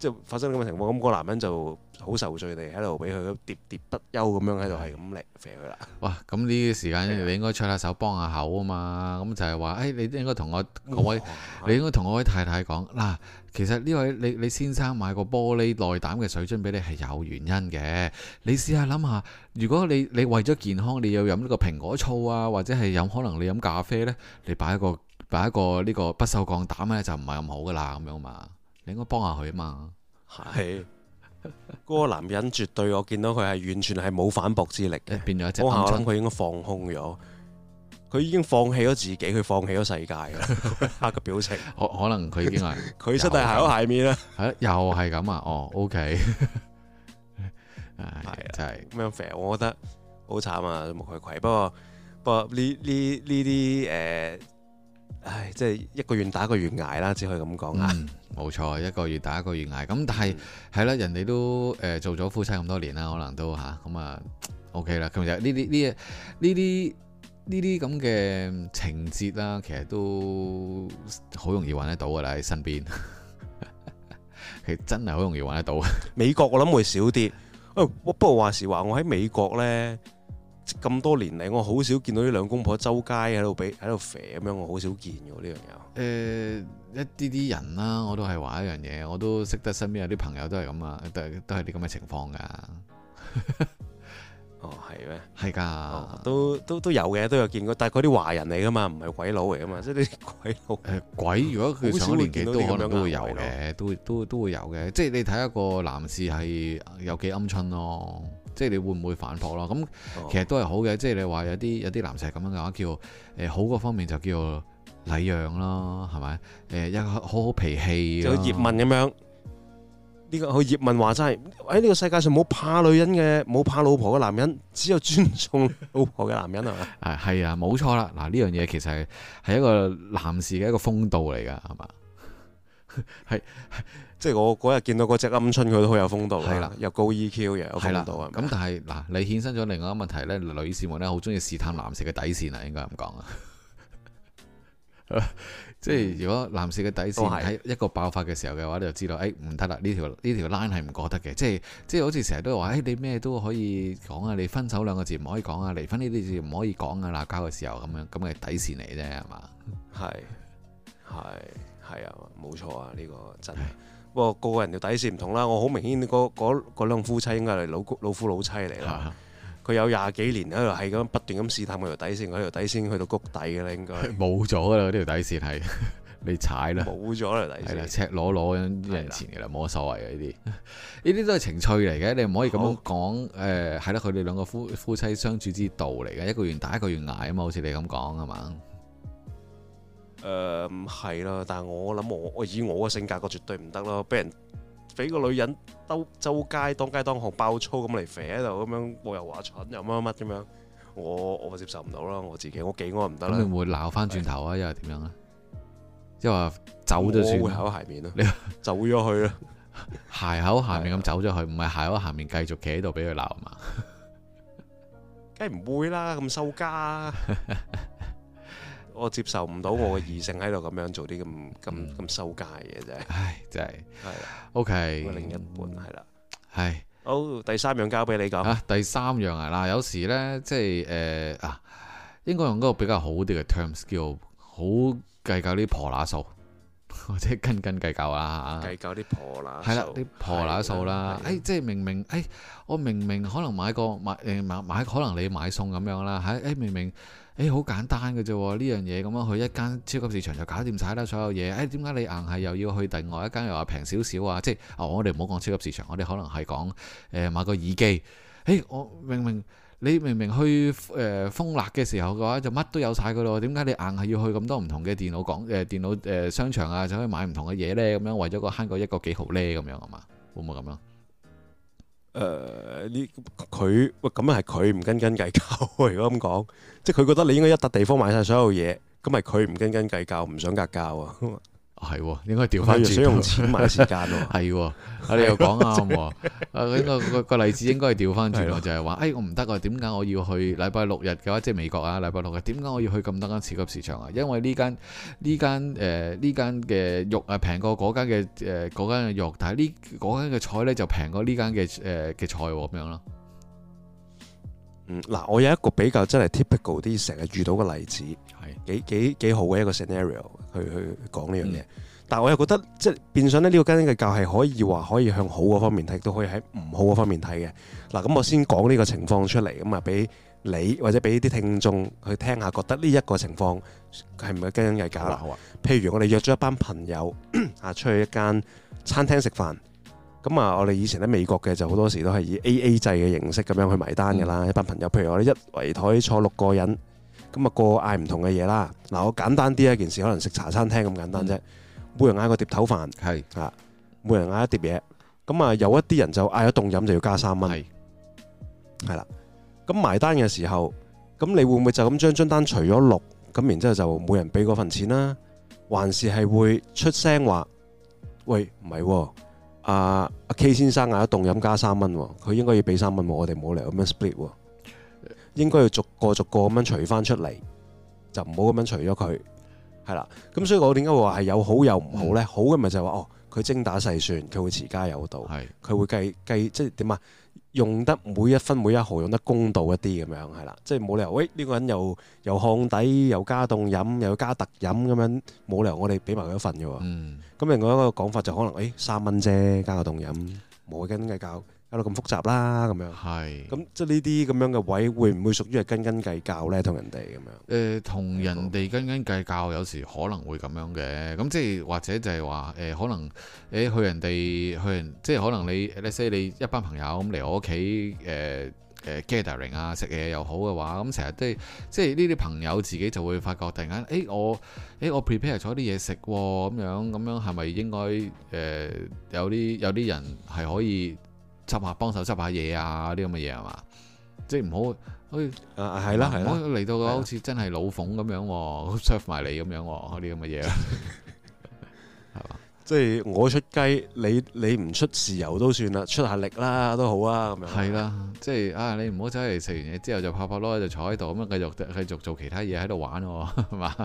即係發生咁嘅情況，咁個男人就好受罪地喺度俾佢喋喋不休咁樣喺度係咁嚟肥佢啦。 哇！咁呢啲時間你應該出下手幫下口啊嘛。咁就係話，你應該同我位，你應該同我位太太講嗱，其實呢位你先生買個玻璃內膽嘅水樽俾你係有原因嘅。你試下諗下，如果你為咗健康，你要飲呢個蘋果醋啊，或者係可能你飲咖啡呢，你擺一個呢個不鏽鋼膽呢，就唔係咁好噶啦，咁樣嘛。你應該幫下佢啊嘛。 係嗰個男人絕對，我見到佢係完全係冇反駁之力嘅， 變咗一隻。 我諗佢應該放空咗，佢已經放棄咗自己，佢放棄咗世界㗎。黑嘅表情， 可能佢已經係佢真係鞋口鞋面啦。 係又係咁啊！哦，OK，真係咁樣肥，我覺得好慘啊，無愧愧。不過呢啲即係一個願打一個願捱啦，只可以咁講啊。 冇錯，一個月打一個月捱。咁但係係啦，人哋都做咗夫妻咁多年啦，可能都咁啊 OK 啦。其實呢啲咁嘅情節啦，其實都好容易揾得到噶啦，喺身邊。其實真係好容易揾得到。美國我諗會少啲。不過話時話，我喺美國呢，咁多年嚟，我好少見到呢兩公婆周街喺度肥咁樣，我好少見嘅呢樣嘢。 一啲人啦，我都係話一樣嘢，我都識得身邊有啲朋友都係咁啊，都係啲咁嘅情況噶。 哦，係咩？ 係噶， 都有嘅，都有見過。但係嗰啲華人嚟噶嘛，唔係鬼佬嚟噶嘛，即係啲鬼佬。 鬼如果佢上咗年紀，都可能都會有嘅，都會有嘅。即係你睇一個男士係有幾鵪鶉咯，即係你會唔會反駁咯？咁其實都係好嘅。即係你話有啲男士係咁樣嘅話，叫好嗰方面就叫禮讓咯，係咪？一個好脾氣， 就葉問咁樣。呢個佢葉問話齋喺呢個世界上冇怕女人嘅，冇怕老婆嘅男人，只有尊重老婆嘅男人係嘛？ 係啊，冇錯啦。嗱，呢樣嘢其實係一個男士嘅一個風度嚟㗎，係嘛？係即係我嗰日見到嗰隻鵪鶉，佢都好有風度啦，又高 EQ 又有風度啊。 咁但係嗱，你衍生咗另外一個問題咧，女士們咧好中意試探男士嘅底線啊，應該咁講啊。即係如果男士嘅底線喺一個爆發嘅時候嘅話，你就知道，唔得啦，呢條 line 係唔過得嘅。即係好似成日都話，你咩都可以講啊，你分手兩個字唔可以講啊，離婚呢啲字唔可以講啊，鬧交嘅時候咁樣咁嘅底線嚟啫，係嘛？係啊，冇錯啊，呢個真係。不過個人嘅底線唔同啦，我好明顯嗰兩夫妻應該係老夫老妻嚟啦。佢有廿幾年喺度係咁不斷咁試探佢條底線，佢條底線去到谷底嘅啦，應該冇咗噶啦，呢條底線係你踩啦， 冇咗條底線， 係啦，赤裸裸人前嘅啦，冇乜所謂嘅呢啲都係情趣嚟嘅，你唔可以咁樣講。係啦，佢哋兩個夫妻相處之道嚟嘅，一個願打一個願挨啊嘛，好似你咁講係嘛？ 係啦，但係我諗我以我嘅性格，我絕對唔得咯，俾個女人周街當街當巷爆粗咁嚟肥喺度咁樣，我又話蠢又乜咁樣，我接受唔到啦，我自己我幾我唔得啦。咁你會鬧翻轉頭啊？又係點樣咧？即係話走咗算，我會口鞋面咯，你走咗去啦，鞋口下面咁走咗去，唔係鞋口下面繼續企喺度俾佢鬧嘛？梗係唔會啦，咁收家。我接受唔到我嘅異性喺度咁樣做啲咁收街嘅啫。唉，真係係啦。OK，另一半係啦。係好，第三樣交俾你講。第三樣嗱，有時咧即係應該用嗰個比較好啲嘅 terms 叫好計較啲婆乸數，或者斤計較啦嚇。計較啲婆乸數係啦，啲婆乸數啦。即係明明我明可能買可能你買餸咁樣啦。明明。好簡單嘅啫喎，呢樣嘢咁樣去一間超級市場就搞掂晒啦，所有嘢。點解你硬係又要去另外一間又話平少少啊？即係我哋唔好講超級市場，我哋可能係講買個耳機。我你明明去豐樂嘅時候嘅話，就乜都有晒噶咯。點解你硬係要去咁多唔同嘅電腦商場啊，就可以買唔同嘅嘢呢？咁樣為咗慳個一個幾毫呢？咁樣係嘛？會唔會咁樣？佢咁樣係佢唔斤計較。如果咁講，即係佢覺得你應該一笪地方買晒所有嘢，咁係佢唔斤計較，唔想格較啊。 係喎，應該調翻轉， 想用錢買時間喎。 係喎，你又講啱喎。應該個例子應該係調翻轉喎，就係話，我唔得啊，點解我要去禮拜六日嘅話，即係美國啊，禮拜六日點解我要去咁多間超級市場啊？因為呢間嘅肉啊平過嗰間嘅肉，但係呢嗰間嘅菜咧就平過呢間嘅菜咁樣咯。 嗱，我有一個比較真係 typical 啲成日遇到嘅例子，係幾好嘅一個 scenario 去講呢樣嘢。但係我又覺得即係變相咧，呢個斤斤計較係可以向好嗰方面睇，都可以喺唔好嗰方面睇嘅。嗱，咁我先講呢個情況出嚟，咁啊俾你或者俾啲聽眾去聽下，覺得呢一個情況係唔係斤斤計較啦？好啊。譬如我哋約咗一班朋友出去一間餐廳食飯。咁啊，我哋以前喺美國嘅就好多時都係以 AA 制嘅形式咁樣去埋單㗎啦。一班朋友，譬如我哋一圍台坐6個人，咁啊個嗌唔同嘅嘢啦。嗱，我簡單啲一件事，可能食茶餐廳咁簡單啫。每人嗌個碟頭飯，係啊，每人嗌一碟嘢。咁啊，有一啲人就嗌咗凍飲就要加3蚊，係啦。咁埋單嘅時候，咁你會唔會就咁將張單除咗6，咁然之後就每人俾嗰份錢啦？還是係會出聲話，喂，唔係喎？阿 K 先生嗌咗凍飲加3蚊，佢應該要俾3蚊，我哋冇理由咁樣 split 喎，應該要逐個咁樣除翻出嚟，就唔好咁樣除咗佢，係啦。咁所以我點解會話係有好有唔好呢？好嘅咪就係話佢精打細算，佢會持家有道，佢會計即係點啊？用得每一分每一毫用得公道一啲咁樣係啦，即係冇理由喂呢個人又烘底又加凍飲又加特飲咁樣，冇理由我哋俾埋佢一份嘅喎。咁另外一個講法就可能3蚊啫，加個凍飲冇斤斤計較，搞到咁複雜啦咁樣。係。咁即係呢啲咁樣嘅位會唔會屬於係斤斤計較咧？同人哋咁樣？同人哋斤斤計較有時可能會咁樣嘅。咁即係或者就係話可能去人即係可能let's say你一班朋友咁嚟我屋企gathering 啊食嘢又好嘅話，咁成日都即係呢啲朋友自己就會發覺突然間我 prepare 咗啲嘢食咁樣係咪應該有啲人係可以幫手執下嘢啊啲咁嘅嘢係嘛？即係唔好係啦，唔好嚟到好似真係老馮咁樣 serve 埋你咁樣啲咁嘅嘢啦，係嘛？即係我出雞，你唔出豉油都算啦，出下力啦都好啊咁樣。係啦，即係你唔好走嚟食完嘢之後就拍囉就坐喺度咁樣繼續做其他嘢喺度玩係嘛？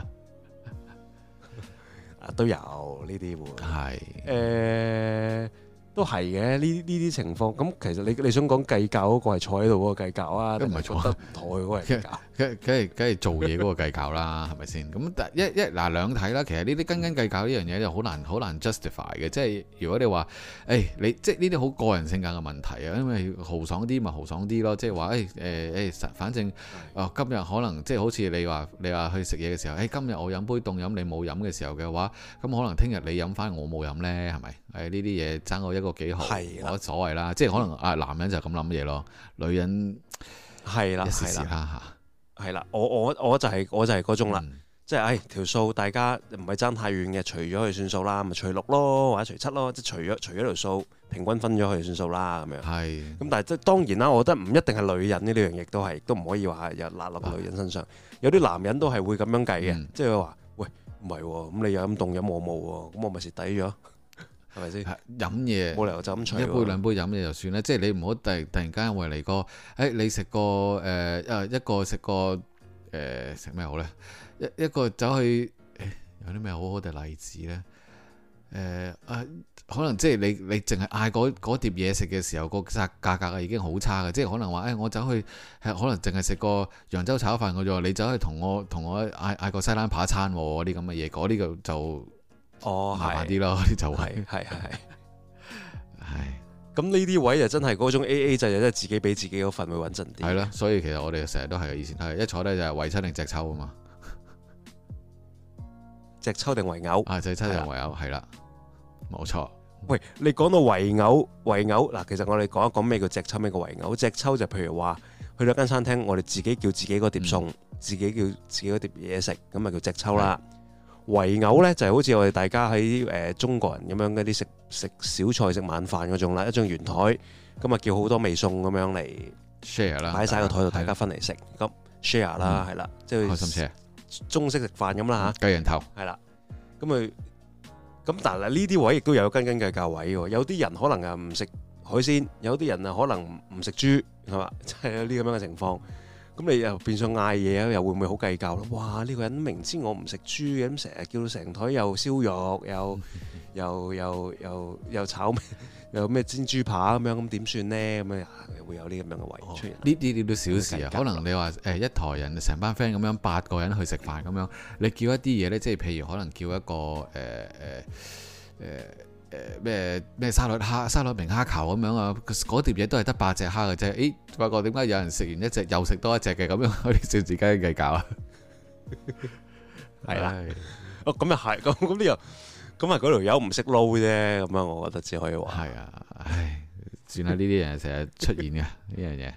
都有呢啲會係都係嘅，呢啲情況咁，其實你想講計較嗰個係坐喺度嗰個計較啊，都唔係坐得唔妥嘅嗰個計較，梗係做嘢嗰個計較啦，係咪先？咁嗱兩睇啦，其實呢啲斤斤計較呢樣嘢就好難 justify 嘅，即係如果你話你即係呢啲好個人性格嘅問題啊，因為豪爽啲咪豪爽啲咯，即係話反正今日可能即係好似你話去食嘢嘅時候，今日我飲杯凍飲你冇飲嘅時候嘅話，咁可能聽日你飲翻我冇飲呢，係咪？呢啲嘢爭我一個幾毫，冇乜所謂啦。即係可能男人就咁諗嘢咯，女人係啦，一時時啦嚇，係啦。我就係嗰種啦，即係條數大家唔係爭太遠嘅，除咗佢算數啦，咪除6咯，或者除7咯，即係除咗條數，平均分咗佢算數啦咁樣。係。咁但係即係當然啦，我覺得唔一定係女人呢樣嘢都唔可以話又揦落女人身上。有啲男人都係會咁樣計嘅，即係話喂唔係喎，咁你有飲凍飲我冇喎，咁我咪蝕底咗。係咪先？飲嘢冇理由就咁除一杯兩杯飲嘢就算啦，即係你唔好突然間為嚟個你食個一個食個食咩好呢？一個走去有啲咩好好嘅例子呢？可能即係你淨係嗌嗰碟嘢食嘅時候，個價格啊已經好差嘅，即係可能話我走去可能淨係食個揚州炒飯嘅啫，你走去同我嗌個西冷扒餐啲咁嘅嘢，嗰啲就麻煩啲咯，就係咁呢啲位就真係嗰種 AA 制，就真係自己俾自己嗰份會穩陣啲。係咯，所以其實我哋成日都係以前係一坐低就係圍親定隻抽啊嘛，隻抽定圍毆啊，隻抽定圍毆係啦，冇錯。喂，你講到圍毆嗱，其實我哋講一講咩叫隻抽，咩叫圍毆。隻抽就譬如話去到間餐廳，我哋自己叫自己嗰碟餸，自己叫自己嗰碟嘢食，咁咪叫隻抽啦。圍毆咧就係好似我哋大家喺中國人咁樣嗰啲食小菜食晚飯嗰種啦，一張圓台，咁啊叫好多味餸咁樣嚟 share 啦，擺晒個台度，大家分嚟食，咁 share 啦，係啦，即係開心 share，中式食飯咁啦嚇，雞人頭係啦，咁佢咁但係呢啲位亦都有斤斤計較位喎。有啲人可能啊唔食海鮮，有啲人啊可能唔食豬，係嘛？即係有啲咁樣嘅情況。咁你又變相嗌嘢啊，又會唔會好計較咯？哇！呢個人明知我唔食豬嘅，咁成日叫到成枱又燒肉，又炒咩，又咩煎豬扒咁樣，咁點算呢？咁樣會有啲咁樣嘅位出現。 呢啲都小事啊，可能你話一枱人成班 friend 咁樣8個人去食飯咁樣，你叫一啲嘢呢，即係譬如可能叫一個咩沙律明蝦球咁樣啊，嗰碟嘢都係得8隻蝦嘅啫。誒，發覺點解有人食完一隻又食多一隻嘅咁樣，可以笑自己計較啊？ 係啦，咁又係，咁呢又咁啊？嗰條友唔識撈啫，咁樣我覺得只可以話係啊。唉，算啦，呢啲人成日出現嘅呢樣嘢。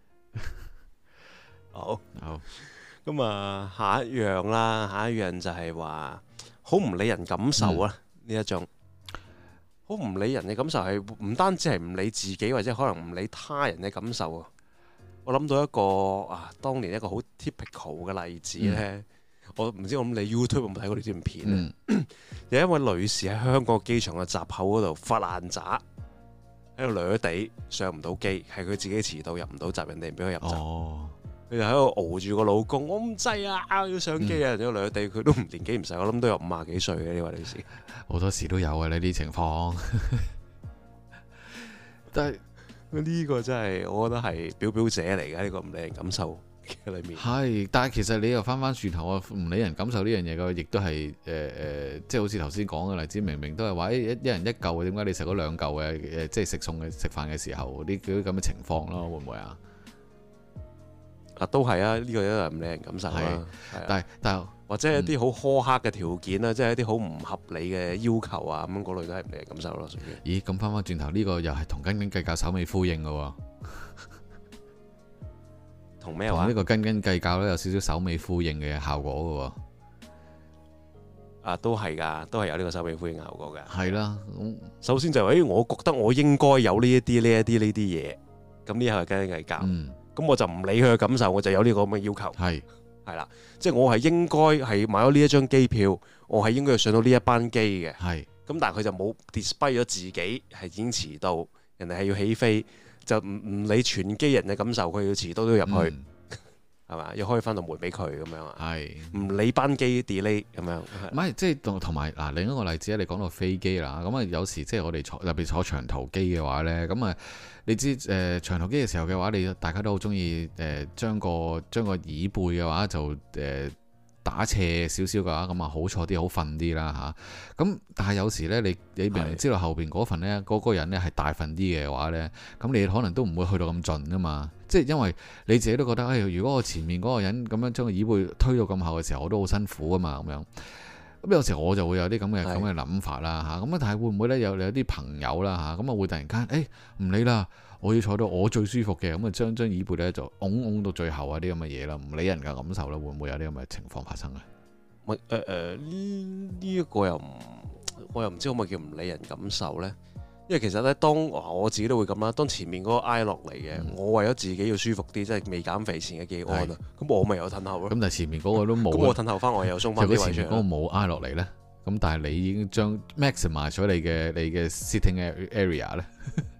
好，咁啊，下一樣就係話好唔理人感受啊！呢一種。好唔理人嘅感受係唔單止係唔理自己，或者可能唔理他人嘅感受啊！我諗到一個當年一個好 typical 嘅例子呢。我唔知我諗你 YouTube 有冇睇過呢段片啊？有一位女士喺香港機場嘅閘口嗰度發爛渣，喺度掠地上唔到機，係佢自己遲到入唔到閘，人哋唔俾佢入閘。佢就喺度熬住個老公，我唔制啊，要上機啊！人哋掠地，佢都年紀唔細，我諗都有50幾歲嘅呢位女士。 好多時都有啊呢啲情況， 但係呢個真係我覺得係表者嚟嘅呢個唔理人感受嘅裏面。 係，但係其實你又翻轉頭啊，唔理人感受呢樣嘢嘅，亦都係即係好似頭先講嘅例子，明明都係話一人一嚿，點解你食咗2嚿嘅？即係食飯嘅時候呢啲咁嘅情況咯，會唔會啊？ 都係啊，呢個都係唔理人感受啦。 但或者係一啲好苛刻嘅條件啦，即係一啲好唔合理嘅要求啊，咁嗰類都係唔理人感受咯。屬於。 咦？咁翻轉頭呢個又係同斤斤計較首尾呼應嘅喎。 同咩話？ 呢個斤斤計較咧有少少首尾呼應嘅效果嘅喎。 都係㗎，都係有呢個首尾呼應效果㗎。 係啦， 首先就係我覺得我應該有呢一啲嘢，咁呢下係斤斤計較。咁我就唔理佢嘅感受，我就有呢個咁嘅要求。係啦，即係我係應該係買咗呢一張機票，我係應該要上到呢一班機嘅。咁但係佢就冇 display 咗自己係已經遲到，人哋係要起飛，就唔理全機人嘅感受，佢要遲到都要入去，係嘛？要開翻道門俾佢咁樣啊？唔理班機 delay 咁樣。 唔係，即係同埋嗱，另一個例子咧，你講到飛機啦，咁啊有時即係我哋特別坐長途機嘅話咧，咁啊。你知長途機嘅時候嘅話，大家都好中意將個椅背嘅話就打斜少少嘅話，咁啊好坐啲，好瞓啲啦嚇。咁但係有時呢，你明明知道後邊嗰份呢，嗰個人呢係大份啲嘅話呢，咁你可能都唔會去到咁盡噶嘛。即係因為你自己都覺得，如果我前面嗰個人咁樣將個椅背推到咁後嘅時候，我都好辛苦啊嘛咁樣。咁有時我就會有啲咁嘅諗法啦嚇，咁啊但係會唔會咧有啲朋友啦嚇，咁啊會突然間唔理啦，我要坐到我最舒服嘅，咁啊將椅背咧就拱到最後啊啲咁嘅嘢啦，唔理人嘅感受啦，會唔會有啲咁嘅情況發生啊？ 呢一個我又唔知可唔可以叫唔理人感受咧？因為其實咧，當我自己都會咁啦，當前面嗰個挨落嚟嘅，我為咗自己要舒服啲，即係未減肥前嘅技安啊，咁我咪有褪後咯。咁但係前面嗰個都冇，咁我褪後翻，我又鬆翻啲位出嚟。 前面嗰個冇挨落嚟咧，咁但係你已經將 maximize 咗你嘅 sitting area 咧。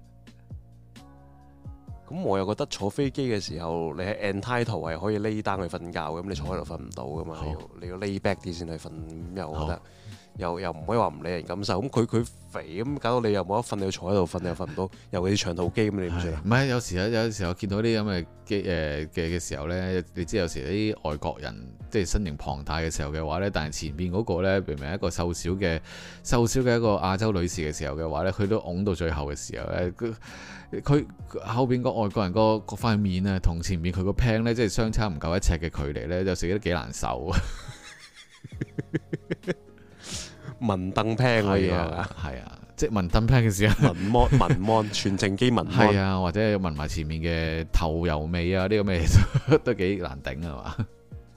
咁我又覺得坐飛機嘅時候，你喺 entitled 係可以 lay down 去瞓覺嘅，咁你坐喺度瞓唔到噶嘛，你要 lay back 啲先去瞓，咁又我覺得。又唔可以話唔理人感受，咁佢肥咁搞到你又冇得瞓，你要坐喺度瞓，你又瞓唔到，尤其是長途機咁，你點算啊？ 唔係有時我見到啲咁嘅機嘅時候咧，你知有時啲外國人即係身形龐大嘅時候嘅話咧，但係前邊嗰個咧明明係一個瘦小嘅一個亞洲女士嘅時候嘅話咧，佢都拱到最後嘅時候咧，佢後邊個外國人個塊面啊，同前面佢個 pan 咧，即係相差唔夠1尺嘅距離咧，有時都幾難受啊！ 文凳 pan 嗰啲係啊，即係文凳 pan 嘅時候， 文芒全程機文係啊，或者聞埋前面嘅頭油味啊，呢個咩都幾難頂啊嘛。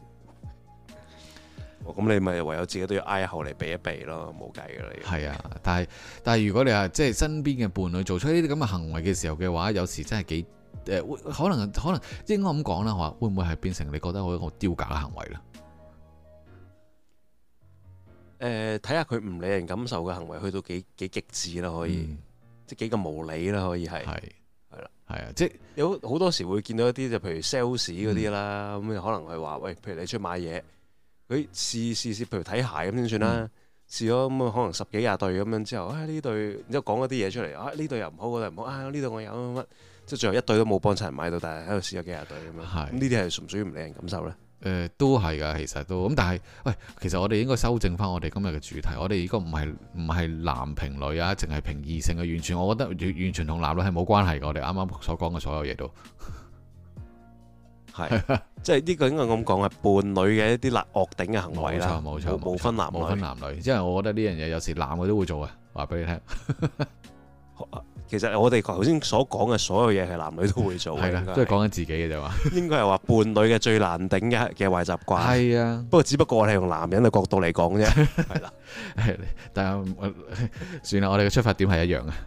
咁你咪唯有自己都要挨後嚟避一避咯，冇計噶啦。 係啊，但係如果你話即係身邊嘅伴侶做出呢啲咁嘅行為嘅時候嘅話，有時真係幾可能應該咁講啦，會唔會係變成你覺得好一個丟架嘅行為咧？ 睇下佢唔理人感受嘅行為去到幾極致啦，可以，即係幾咁無理啦，可以係。係啦， 係啊，即係有好多時會見到一啲就譬如 sales 嗰啲啦，咁可能係話喂，譬如你出去買嘢，佢試，譬如睇鞋咁先算啦，試咗咁可能10幾20對咁樣之後，呢對，然之後講一啲嘢出嚟，呢對又唔好，嗰對唔好，呢對我有乜，即係最後一對都冇幫襯人買到，但係喺度試咗幾廿對咁樣，咁呢啲係屬唔屬於唔理人感受咧？ 都係㗎，其實都咁，但係喂，其實我哋應該修正翻我哋今日嘅主題，我哋如果唔係男評女啊，淨係評異性嘅，完全我覺得完全同男女係冇關係嘅。我哋啱啱所講嘅所有嘢都係，即係呢個應該咁講係伴侶嘅一啲惡頂嘅行為啦， 冇錯， 冇分男女，因為我覺得呢樣嘢有時男嘅都會做嘅，話俾你聽。 其實我哋頭先所講嘅所有嘢係男女都會做嘅， 係啦，都係講緊自己嘅啫嘛。應該係話伴侶嘅最難頂嘅壞習慣。 係啊， 不過只不過我哋用男人嘅角度嚟講啫。係啦， 但係算啦，我哋嘅出發點係一樣嘅。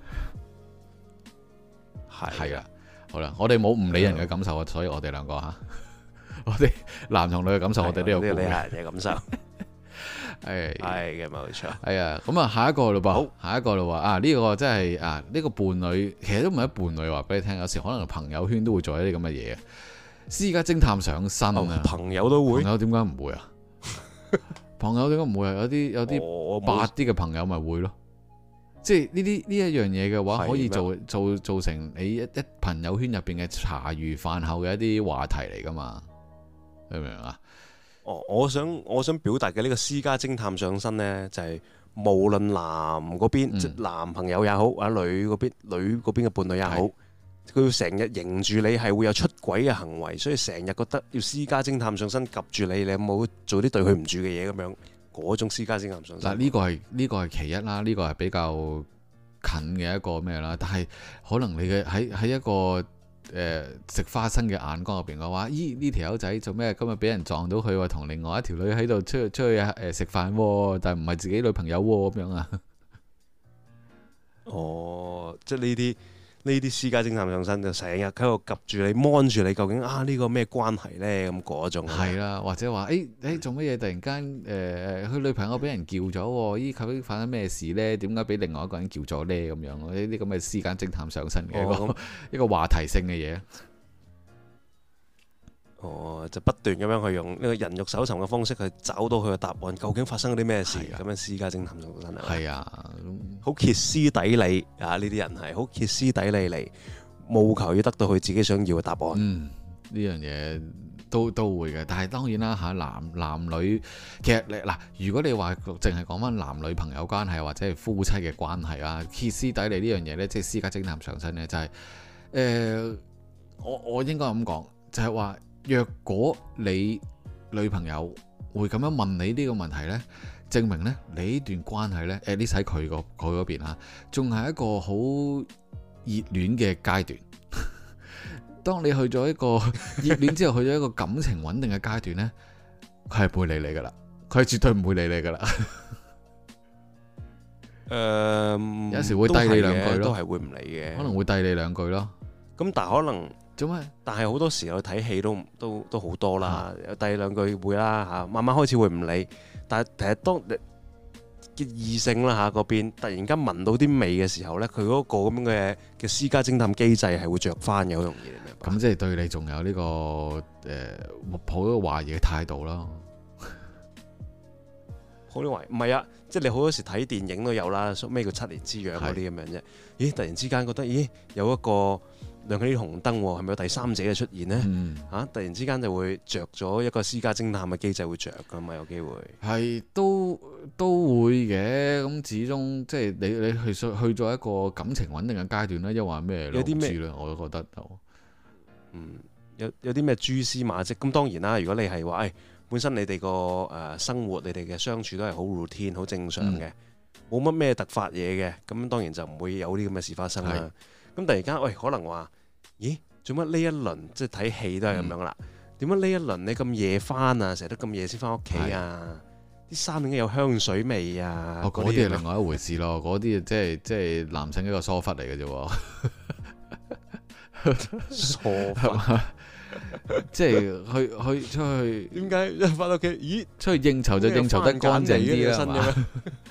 係啊，好啦，我哋冇唔理人嘅感受啊，所以我哋兩個嚇，我哋男同女嘅感受，我哋都有顧慮。 理下人嘅感受。 係嘅，冇錯。 係啊，咁啊，下一個咯噃， 好， 下一個咯喎，呢個真係呢個伴侶其實都唔係伴侶，話俾你聽，有時可能朋友圈都會做一啲咁嘅嘢啊。私家偵探上身啊， 朋友都會， 朋友點解唔會啊？朋友點解唔會啊？有啲白啲嘅朋友咪會咯，即係呢一樣嘢嘅話，可以做成你一朋友圈入邊嘅茶餘飯後嘅一啲話題嚟噶嘛？明唔明啊？ 我想表達嘅呢個私家偵探上身呢，就係無論男嗰邊，即男朋友也好，或者女嗰邊嘅伴侶也好，佢要成日迎住你係會有出軌嘅行為，所以成日覺得要私家偵探上身及住你，你有冇做啲對佢唔住嘅嘢咁樣？嗰種私家偵探上身。嗱， 呢個係其一啦，呢個係比較近嘅一個咩啦？但係可能你嘅喺一個食花生嘅眼光入邊嘅話，呢條友仔做咩今日俾人撞到佢，話同另外一條女喺度出去食飯，但係唔係自己女朋友咁樣啊？ 即係呢啲私家偵探上身就成日喺度及住你，摸住你，究竟呢個咩關係呢？咁嗰種係啦，或者話做乜嘢突然間佢女朋友俾人叫咗，究竟發生咩事呢？點解俾另外一個人叫咗呢？咁樣呢啲咁嘅私家偵探上身嘅一個話題性嘅嘢。 就不斷咁樣去用呢個人肉搜尋嘅方式去找到佢嘅答案，究竟發生咗啲咩事？咁樣私家偵探上身係啊，好歇斯底里啊！呢啲人係好歇斯底里嚟，務求要得到佢自己想要嘅答案。 呢樣嘢都會嘅，但係當然啦嚇，男女其實嗱，如果你話淨係講翻男女朋友關係或者係夫妻嘅關係啊，歇斯底里呢樣嘢呢，即係私家偵探上身呢，就係我應該咁講，就係話。若果你女朋友會咁樣問你呢個問題呢，證明呢你呢段關係呢，at least喺佢嗰邊啊，仲係一個好熱戀嘅階段。當你去咗一個熱戀之後，去咗一個感情穩定嘅階段呢，佢係唔會理你噶啦，佢係絕對唔會理你噶啦。有時會遞你兩句咯， 都係會唔理嘅， 可能會遞你兩句咯。 咁但係可能。但係好多時候睇戲都好多啦，第兩句會啦嚇，慢慢開始會唔理。但係其實當嘅異性啦嚇嗰邊突然間聞到啲味嘅時候咧，佢嗰個咁樣嘅私家偵探機制係會着翻嘅，好容易明白。 咁即係對你仲有呢個抱咗懷疑嘅態度咯。 好多懷疑唔係啊，即係你好多時睇電影都有啦，咩叫7年之癢嗰啲咁樣啫。咦，突然之間覺得有一個亮起啲紅燈，係咪有第三者嘅出現呢？突然之間就會着咗一個私家偵探嘅機制會着噶嘛，有機會係都會嘅。咁始終即係你去咗一個感情穩定嘅階段咧，又話咩？有啲咩咧？我都覺得有啲咩蛛絲馬跡。咁當然啦，如果你係話本身你哋個生活，你哋嘅相處都係好 routine 好正常嘅，冇乜咩突發嘢嘅，咁當然就唔會有啲咁嘅事發生啦。咁突然間，可能話，咦，做乜呢一輪即係睇戲都係咁樣啦？點解呢一輪你咁夜翻啊？成日都咁夜先翻屋企啊？啲衫點解有香水味啊？ 嗰啲係另外一回事咯，嗰啲即係男性一個疏忽嚟嘅啫。 疏忽即係去出去， 點解一翻到屋企？咦， 出去應酬就應酬得乾淨啲啦，係嘛？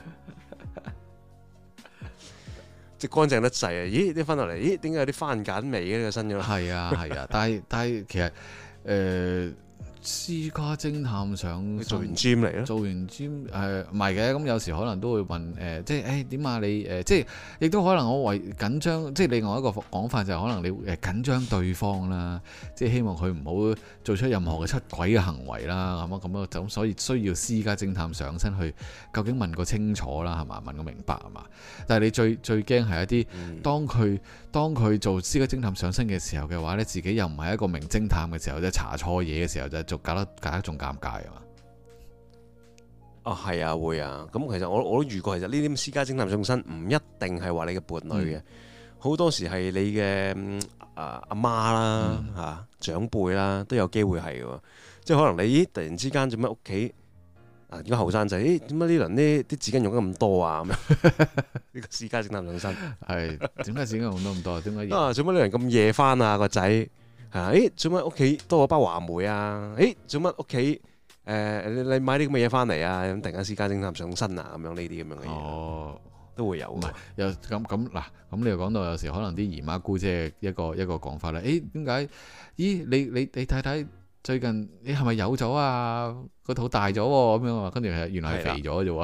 即係乾淨得滯啊！咦，啲翻落嚟，咦，點解有啲番梘味嘅呢個身嘅？ 係啊，但係其實私家偵探上做完 gym 嚟咯， 做完 gym 唔係嘅，咁有時可能都會問即係點啊？你即係亦都可能我為緊張，即係另外一個講法就係可能你緊張對方啦，即係希望佢唔好做出任何嘅出軌嘅行為啦，咁所以需要私家偵探上身去究竟問個清楚啦，係嘛？問個明白係嘛？但係你最驚係一啲當佢做私家偵探上身嘅時候嘅話呢，自己又唔係一個名偵探嘅時候，即係查錯嘢嘅時候就搞得仲尷尬啊嘛！ 係啊，會啊。咁其實我都遇過，其實呢啲私家偵探上身唔一定係話你嘅伴侶嘅，好多時係你嘅阿媽啦嚇長輩啦都有機會係嘅。即係可能你突然之間做咩屋企而家後生仔，點解呢輪啲紙巾用得咁多啊？咁樣呢個私家偵探上身係點解紙巾用得咁多？點解做乜呢輪咁夜翻啊個仔？係做乜屋企多咗包話梅啊？做乜屋企你買啲咁嘅嘢翻嚟啊？咁突然間私家偵探上身啊？咁樣呢啲咁樣嘅嘢都會有。唔係又咁你又講到有時可能啲姨媽姑姐一個講法啦。點解？咦你睇睇最近你係咪有咗啊？個肚大咗咁樣啊？跟住原來係肥咗啫喎。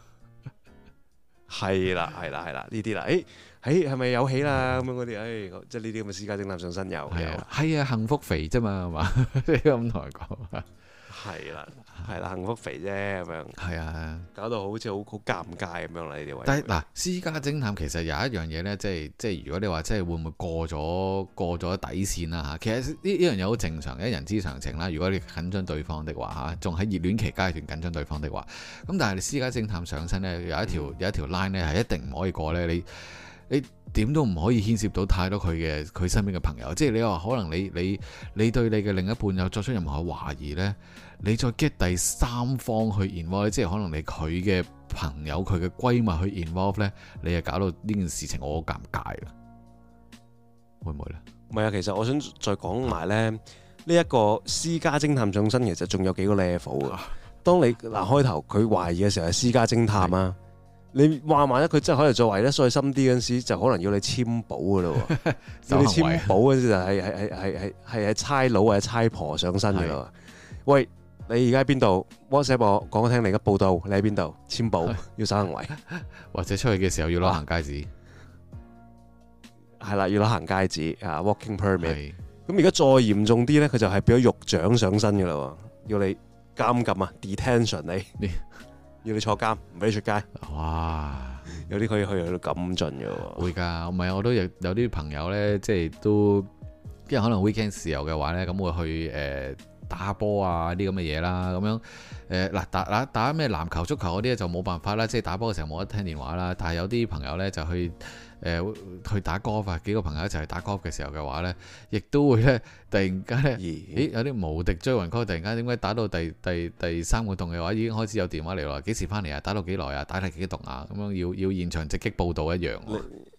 係啦呢啲啦。係咪有喜啦？咁樣嗰啲，即係呢啲咁嘅私家偵探上身有。 係啊，幸福肥啫嘛，係嘛？你咁同佢講。係啦，幸福肥啫咁樣。係啊，搞到好似好尷尬咁樣啦呢啲位。 但係嗱，私家偵探其實有一樣嘢咧，即係如果你話即係會唔會過咗底線啦嚇？其實呢樣嘢好正常嘅，人之常情啦。如果你緊張對方的話嚇，仲喺熱戀期階段緊張對方的話，咁但係你私家偵探上身咧，有一條 line 咧係一定唔可以過咧，你點都唔可以牽涉到太多佢身邊嘅朋友，即係你話可能你對你嘅另一半有作出任何懷疑呢，你再 get 第三方去 involve， 即係可能你佢嘅朋友佢嘅閨蜜去 involve 呢，你就搞到呢件事情我好尷尬啦，會唔會呢？ 唔係啊，其實我想再講埋呢一個私家偵探上身，其實仲有幾個 level 嘅。當你開頭佢懷疑嘅時候係私家偵探啊。你話萬一佢真係可能再懷得再深啲嗰陣時，就可能要你簽保噶咯。要你簽保嗰陣時就係差佬或者差婆上身噶咯。喂，你而家喺邊度 ？WhatsApp 我講聽你嘅報道，你喺邊度？簽保要守行為， 或者出去嘅時候要攞行街紙。 係啦，要攞行街紙啊 ，walking permit。咁而家再嚴重啲咧，佢就係變咗獄長上身噶啦，要你監禁啊 ，detention 你。要你坐監，唔俾你出街。哇！有啲可以去到咁盡嘅喎。會㗎，唔係我都有啲朋友呢，即係都，因為可能 weekend 時候嘅話呢，咁會去打下波啊啲咁嘅嘢啦，咁樣嗱打咩籃球、足球嗰啲就冇辦法啦，即係打波嘅時候冇得聽電話啦。但係有啲朋友呢，就去打 golf 啊，幾個朋友一齊去打 golf 嘅時候嘅話呢，亦都會呢，突然間呢，有啲無敵追魂 call，突然間點解打到第三個洞嘅話已經開始有電話嚟啦？幾時翻嚟啊？打到幾耐啊？打第幾洞啊？咁樣要現場直擊報導一樣。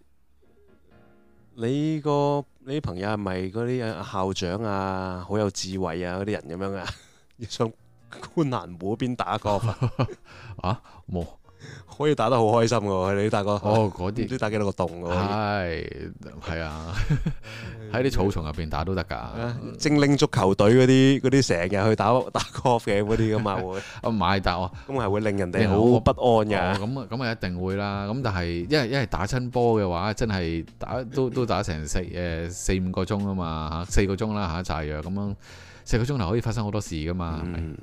你啲朋友係咪嗰啲校長啊，好有智慧啊嗰啲人咁樣啊？要上觀瀾湖邊打 golf 啊？冇。 可以打得好開心嘅喎，你大哥嗰啲唔知打幾多個洞嘅喎， 係啊，喺啲草叢入邊打都得㗎。 精靈足球隊嗰啲成日去打 golf 嘅嗰啲咁嘛會， 唔係打我， 咁係會令人哋好不安㗎。 咁啊一定會啦。咁但係因為打親波嘅話，真係都打成4-5個鐘啊嘛嚇，4個鐘啦嚇，炸藥咁樣4個鐘頭可以發生好多事㗎嘛，係咪？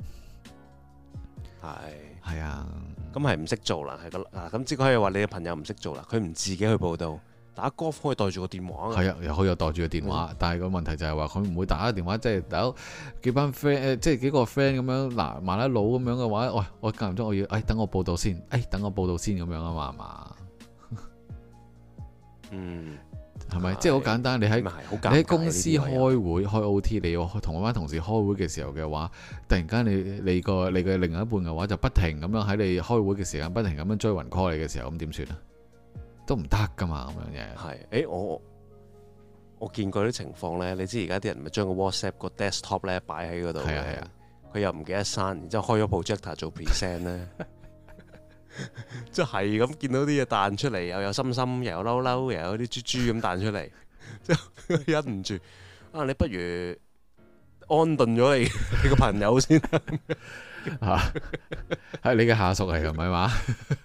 係啊。 咁係唔識做啦，係咁只可以話你嘅朋友唔識做啦，佢唔自己去報到，打 golf 可以袋住個電話。係啊， 又可以有袋住個電話，但係個問題就係話佢唔會打個電話，即係打幾班 friend 即係幾個 friend 咁樣嗱，麻甩佬咁樣嘅話，喂，我間唔中我要，等我報到先，等我報到先咁樣啊嘛，係嘛？係咪？即係好簡單，你喺公司開會開 OT， 你要同嗰班同事開會嘅時候嘅話，突然間你嘅另一半嘅話就不停咁樣喺你開會嘅時間不停咁樣追魂 call 你嘅時候，咁點算啊？都唔得噶嘛，咁樣嘢。 係， 我見過啲情況咧，你知而家啲人咪將個 WhatsApp 個 desktop 咧擺喺嗰度嘅，佢又唔記得刪，然之後開咗 projector 做 present 咧，即係咁見到啲嘢彈出嚟，又有心心，又有嬲嬲，又有啲豬豬咁彈出嚟，即係忍唔住啊！你不如安頓咗你個朋友先嚇，係你嘅下屬嚟㗎，唔係嘛？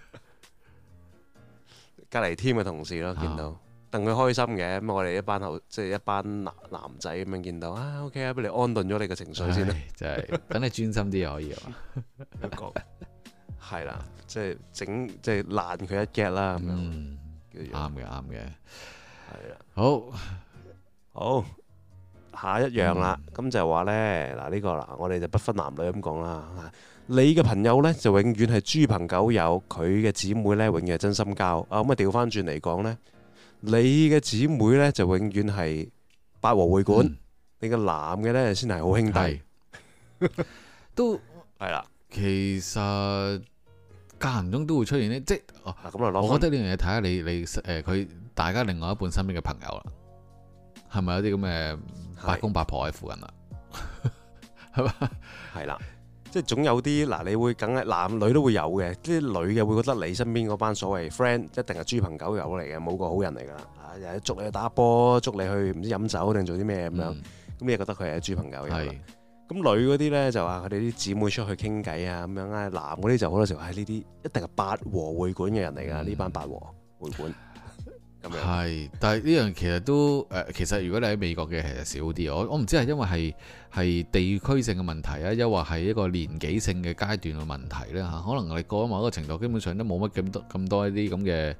隔離 team 嘅同事咯，見到戥佢開心嘅，咁我哋一班即係一班男仔咁樣見到啊 ，OK 啊，俾你安頓咗你嘅情緒先啦， 就係等你專心啲可以啊， 一個係啦，即係整即係爛佢一 get 啦咁樣， 啱嘅， 係啦，好下一樣啦，咁就話咧嗱呢個嗱，我哋就不分男女咁講啦。你嘅朋友呢，就永遠係豬朋狗友，佢嘅姊妹呢，永遠係真心交。啊咁啊調翻轉嚟講呢，你嘅姊妹呢，就永遠係八和會館，你個男嘅呢，先係好兄弟。 都係啦， 其實間唔中都會出現呢，即係我覺得呢樣嘢睇下你佢大家另外一半身邊嘅朋友啦，係咪有啲咁嘅八公八婆喺附近啦？係嘛？係啦。即係總有啲嗱，你會梗係男女都會有嘅，啲女嘅會覺得你身邊嗰班所謂 friend 一定係豬朋狗友嚟嘅，冇個好人嚟㗎啦。啊，又係捉你去打波，捉你去唔知飲酒定做啲咩咁樣，咁你覺得佢係豬朋狗友啦。咁女嗰啲咧就話佢哋啲姊妹出去傾偈啊咁樣啊，男嗰啲就好多時候係呢啲一定係八和會館嘅人嚟㗎，呢班八和會館。係，但係呢樣其實都其實如果你喺美國嘅其實少啲，我唔知係因為係地區性嘅問題啊，又或係一個年紀性嘅階段嘅問題咧嚇，可能你過咗某一個程度，基本上都冇乜咁多一啲咁嘅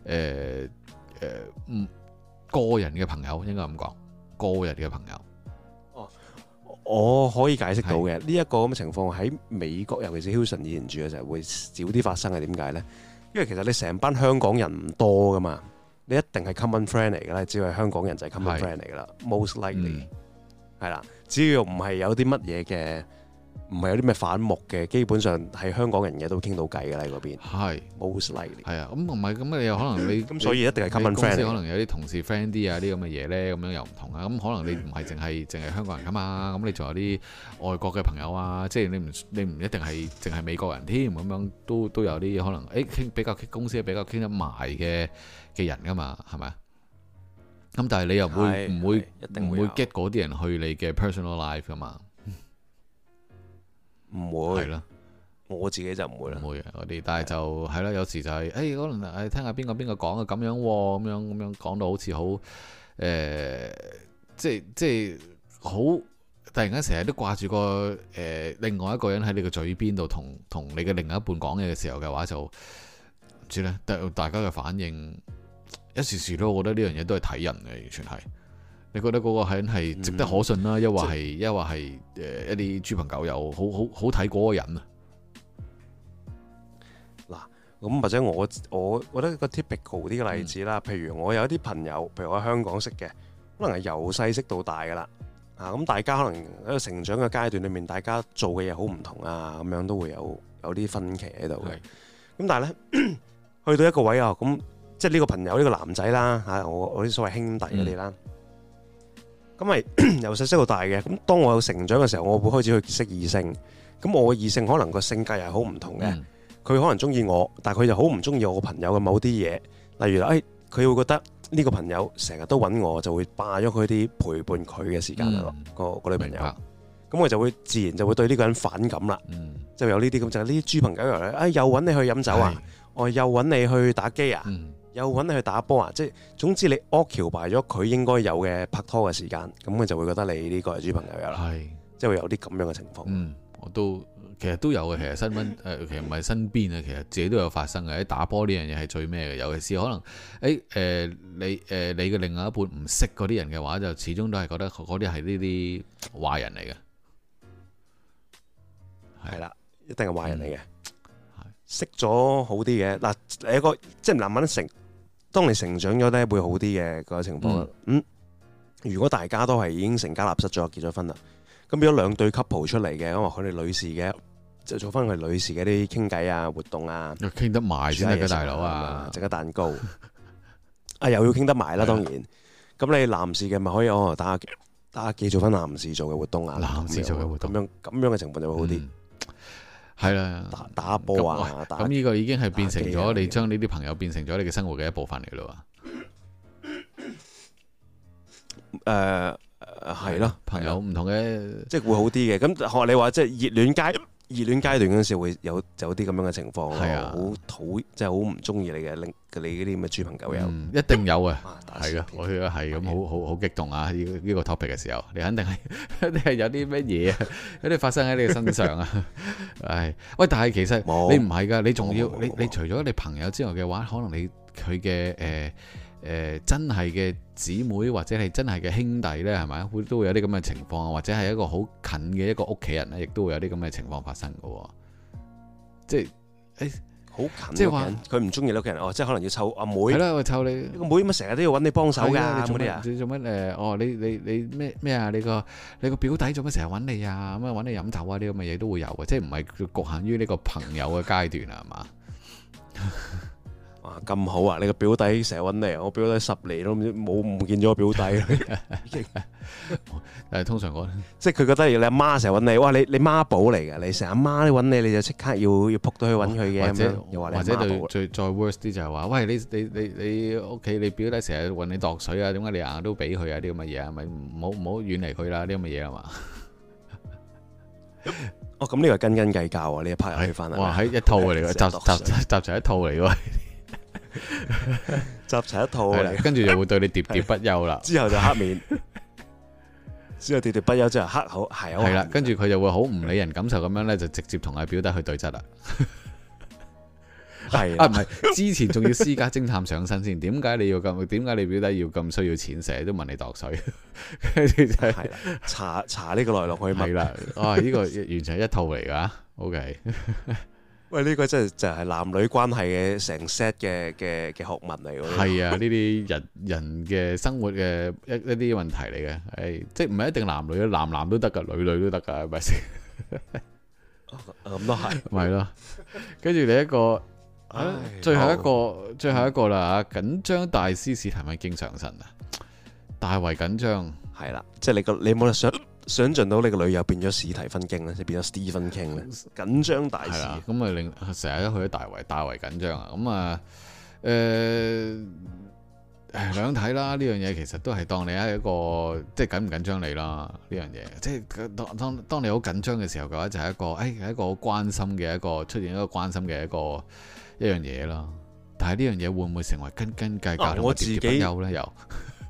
個人嘅朋友，應該咁講，個人嘅朋友。哦，我可以解釋到嘅呢一個咁嘅情況喺美國，尤其是 Houston 以前住嘅時候會少啲發生嘅，點解咧？因為其實你成班香港人唔多噶嘛。你一定係 common friend 嚟㗎啦，只要係香港人就係 common friend 嚟㗎啦，most likely 係啦。只要唔係有啲乜嘢嘅，唔係有啲咩反目嘅，基本上係香港人嘅都傾到偈㗎啦，喺嗰邊。係 most likely。係啊，咁唔係咁你又可能你咁所以一定係 common friend。可能有啲同事 friend 啲啊，啲咁嘅嘢咧，咁樣又唔同啊。咁可能你唔係淨係香港人㗎嘛，咁你仲有啲外國嘅朋友啊，即係你唔一定係淨係美國人添，咁樣都有啲可能傾比較公司比較傾得埋嘅人噶嘛，係咪啊？咁但係你又唔會 get 嗰啲人去你嘅 personal life 噶嘛？唔會係咯，我自己就唔會啦，唔會嗰啲。但係就係啦，有時就係可能聽下邊個講嘅咁樣喎，咁樣講到好似好即係好突然間成日都掛住個另外一個人喺你嘅嘴邊度同你嘅另一半講嘢嘅時候嘅話，就唔知咧，大家嘅反應。一時時都，我覺得呢樣嘢都係睇人嘅，完全係。你覺得嗰個人係值得可信啦，抑或係一啲豬朋狗友，好睇嗰個人啊？嗱，咁或者我覺得一個 typical 啲嘅例子啦，譬如我有一啲朋友，譬如我喺香港識嘅，可能係由細識到大噶啦，咁大家可能喺個成長嘅階段裏面，大家做嘅嘢好唔同啊，咁樣都會有啲分歧喺度嘅。咁但係咧，去到一個位啊，咁。即係呢個朋友呢個男仔啦嚇，我啲所謂兄弟嗰啲啦，咁係由細識到大嘅。咁當我有成長嘅時候，我會開始去識異性。咁我嘅異性可能個性格又係好唔同嘅。佢可能中意我，但係佢就好唔中意我個朋友嘅某啲嘢。例如佢會覺得呢個朋友成日都揾我，就會霸咗佢啲陪伴佢嘅時間啦。個女朋友，咁我就會自然就會對呢個人反感啦。就有呢啲咁就係呢啲豬朋狗友咧，又揾你去飲酒啊，我又揾你去打機啊。又揾你去打波啊！即係總之你 occupy 咗佢應該有嘅拍拖嘅時間，咁佢就會覺得你呢個係豬朋友啦。係，即係會有啲咁樣嘅情況。我都其實都有嘅。其實新聞其實唔係身邊啊，其實自己都有發生嘅。喺打波呢樣嘢係最咩嘅？尤其是可能你嘅另外一半唔識嗰啲人嘅話，就始終都係覺得嗰啲係呢啲壞人嚟嘅。係啦，一定係壞人嚟嘅。識咗好啲嘅嗱，一個即係慢慢當你成長咗咧，會好啲嘅個情況。如果大家都係已經成家立室咗，結咗婚啦，咁變咗兩對 couple 出嚟嘅，咁話佢哋女士嘅，就做翻佢女士嘅啲傾偈啊、活動啊，傾得埋先得嘅大佬啊，整個蛋糕又要傾得埋啦，當然。 咁你男士嘅咪可以打下機做翻男士做嘅活動啊， 男士做嘅活動咁樣嘅情況就會好啲。 係啦， 打波啊， 咁呢個已經係變成咗你將呢啲朋友變成咗你嘅生活嘅一部分嚟咯。係咯，朋友唔同嘅， 即係會好啲嘅。咁學你話，即係熱戀階段嗰陣時會有啲咁樣嘅情況，好討，即係好唔中意你嗰啲咁嘅豬朋狗友。 一定有嘅，係噶，我覺得係咁，好激動啊！呢個 topic 嘅時候，你肯定係有啲乜嘢啊？有啲發生喺你嘅身上啊！唉，喂，但係其實你唔係噶，你仲要你除咗你朋友之外嘅話，可能佢嘅真係嘅姊妹或者係真係嘅兄弟呢，係咪都會有啲咁嘅情況，或者係一個好近嘅一個屋企人呢，亦都會有啲咁嘅情況發生嘅。即係好近， 即係話佢唔中意你屋企人，即係可能要湊阿妹。 係啦，湊你個妹咁成日都要揾你幫手㗎， 你做乜你咩啊？你個表弟做乜成日揾你啊？咁啊揾你飲酒啊？啲咁嘅嘢都會有嘅，即係唔係局限於呢個朋友嘅階段啊？係嘛？ 咁好啊！你個表弟成日揾你，我表弟10年都唔見咗個表弟。 但係通常即係佢覺得你阿媽成日揾你，哇！你媽寶嚟㗎，你成日阿媽都揾你，你就即刻要撲到去揾佢嘅。 或者再 worse 啲就係話，喂，你屋企你表弟成日揾你度水啊？點解你硬都俾佢啊？啲咁嘅嘢啊，咪唔好遠離佢啦！啲咁嘅嘢係嘛？ 咁呢個係斤斤計較啊！呢一 part 又可以翻嚟。 哇！喺一套嚟㗎，集齊一套嚟喎。 集齊一套， 跟住就會對你喋喋不休啦。 之後就黑面，之後喋喋不休之後黑口係啦。跟住佢就會好唔理人感受咁樣咧，就直接同阿表弟去對質啦。係唔係？之前仲要私家偵探上身先。點解你表弟要咁需要錢，成日都問你度水？跟住就係查呢個來龍去脈啦。呢個完全係一套嚟噶。OK。 喂，呢個真係就係男女關係嘅成 set 嘅學問嚟喎。 係啊，呢啲人嘅生活嘅一啲問題嚟嘅，係即係唔係一定男女，男都得噶，女都得噶，係咪先？ 咁都係， 咪咯。跟住你一個，最後一個啦嚇，緊張大師史提米經上身啊，大為緊張。 係啦，即係你冇得想像到你個女友變咗史提芬經咧，即係變咗 Stephen King 咧，緊張大師。 咁啊令成日都去咗大為緊張啊！咁啊兩睇啦，呢樣嘢其實都係當你係一個即係緊唔緊張你啦。呢樣嘢即係當你好緊張嘅時候嘅話，就係一個係一個好關心嘅一個出現一個關心嘅一樣嘢啦。但係呢樣嘢會唔會成為斤斤計較同埋喋喋不休咧？又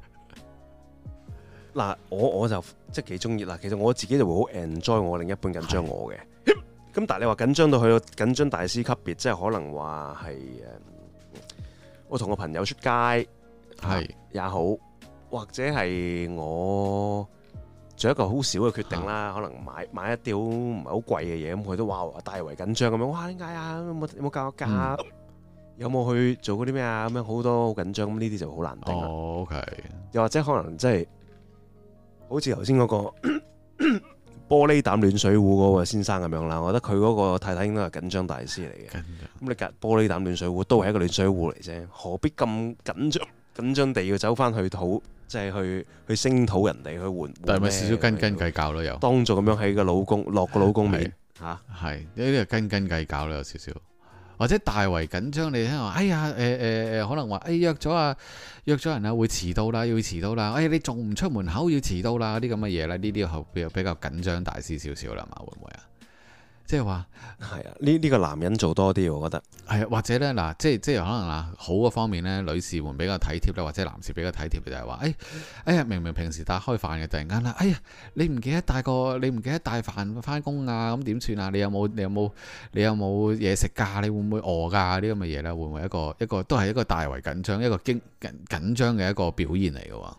嗱，我就即係幾中意啦。其實我自己就會好 enjoy 我另一半緊張我嘅。咁但係你話緊張到去到緊張大師級別，即係可能話係我同個朋友出街係也好，或者係我做一個好少嘅決定啦，可能買一啲唔係好貴嘅嘢，咁佢都話大為緊張咁樣。哇！點解啊？有冇教我價？有冇去做嗰啲咩啊？咁樣好多好緊張，咁呢啲就好難定啦。 OK。又或者可能即係。好似頭先嗰個玻璃膽暖水壺嗰個先生咁樣啦，我覺得佢嗰個太太應該係緊張大師嚟嘅。咁你隔玻璃膽暖水壺都係一個暖水壺嚟啫，何必咁緊張地要走翻去討，即係去聲討人哋去換？ 但係咪少少斤斤計較咯？又當做咁樣喺個老公落個老公面嚇， 係呢啲係斤斤計較咯，有少少。或者大為緊張，你聽話，哎呀，可能話，約咗人啊，會遲到啦，要遲到啦，你仲唔出門口要遲到啦，啲咁嘅嘢咧，呢啲比較緊張大師少少啦嘛，會唔會啊？即係話係啊，呢個男人做多啲，我覺得係啊，或者咧嗱，即係可能嗱，好嘅方面咧，女士們比較體貼啦，或者男士比較體貼嘅就係話，哎呀，明明平時帶開飯嘅，突然間啦，哎呀，你唔記得帶飯翻工啊，咁點算啊？你有冇嘢食㗎？你會唔會餓㗎？啲咁嘅嘢咧，會唔會一個都係一個大為緊張，一個緊張嘅一個表現嚟嘅喎？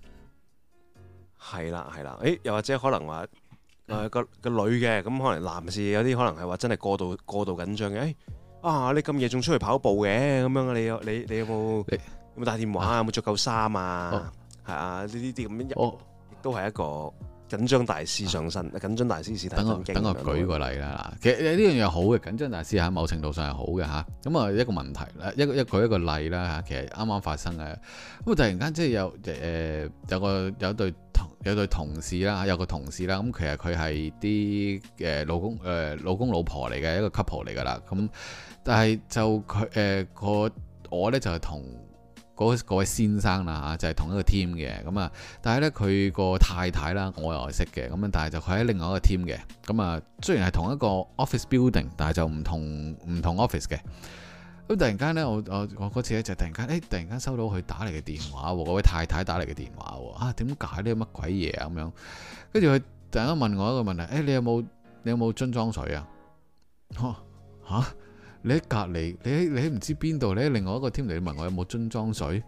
係啦，又或者可能話。個女嘅，咁可能男士有啲可能係話真係過度緊張嘅。你咁夜仲出去跑步嘅咁樣，你有冇帶電話啊？有冇着夠衫啊？係啊，呢啲咁樣亦都係一個緊張大師上身，緊張大師史提芬經。 等我舉個例啦。嗱，其實呢樣嘢好嘅，緊張大師喺某程度上係好嘅嚇。咁啊一個問題啦，舉一個例啦嚇。其實啱啱發生嘅，咁突然間即係有對同事啦，有個同事啦。咁其實佢係啲老公老婆嚟嘅一個 couple 嚟㗎啦。咁但係就佢我咧就係同嗰位先生啦嚇，就係同一個 team 嘅咁啊。但係咧佢個太太啦，我又係識嘅咁啊。但係就佢喺另外一個 team 嘅咁啊。雖然係同一個 office building，但係就唔同 office 嘅。咁突然間咧，我嗰次咧就突然間收到佢打嚟嘅電話喎，嗰位太太打嚟嘅電話喎。啊，點解呢？乜鬼嘢啊咁樣？跟住佢突然間問我一個問題，你有冇樽裝水啊？嚇！你喺隔離，你喺唔知邊度？你喺另外一個 team 嚟，你問我有冇樽裝水？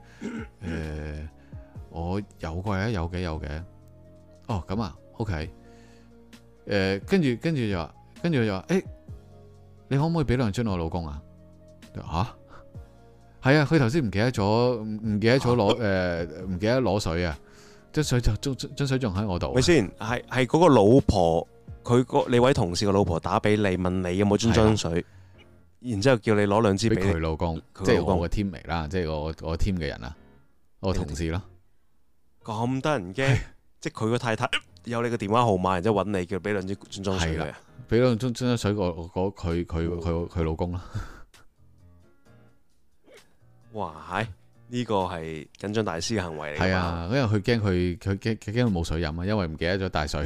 我有嘅，有嘅。哦，咁啊 ，OK。跟住就話，你可唔可以俾兩樽我老公啊？嚇，係啊，佢頭先唔記得攞水啊，樽水仲喺我度。 咪先係嗰個老婆，你位同事個老婆打俾你問你有冇樽裝水。然之後叫你攞兩支俾佢老公， 即係我個 team 嚟啦，即係我 team 嘅人啊，我同事咯。咁得人驚，即係佢個太太有你個電話號碼，然之後揾你叫俾兩支樽裝水佢啊， 俾兩樽裝水佢老公啦。 哇！呢個係緊張大師嘅行為嚟。 係啊，因為佢驚佢冇水飲啊，因為唔記得咗帶水。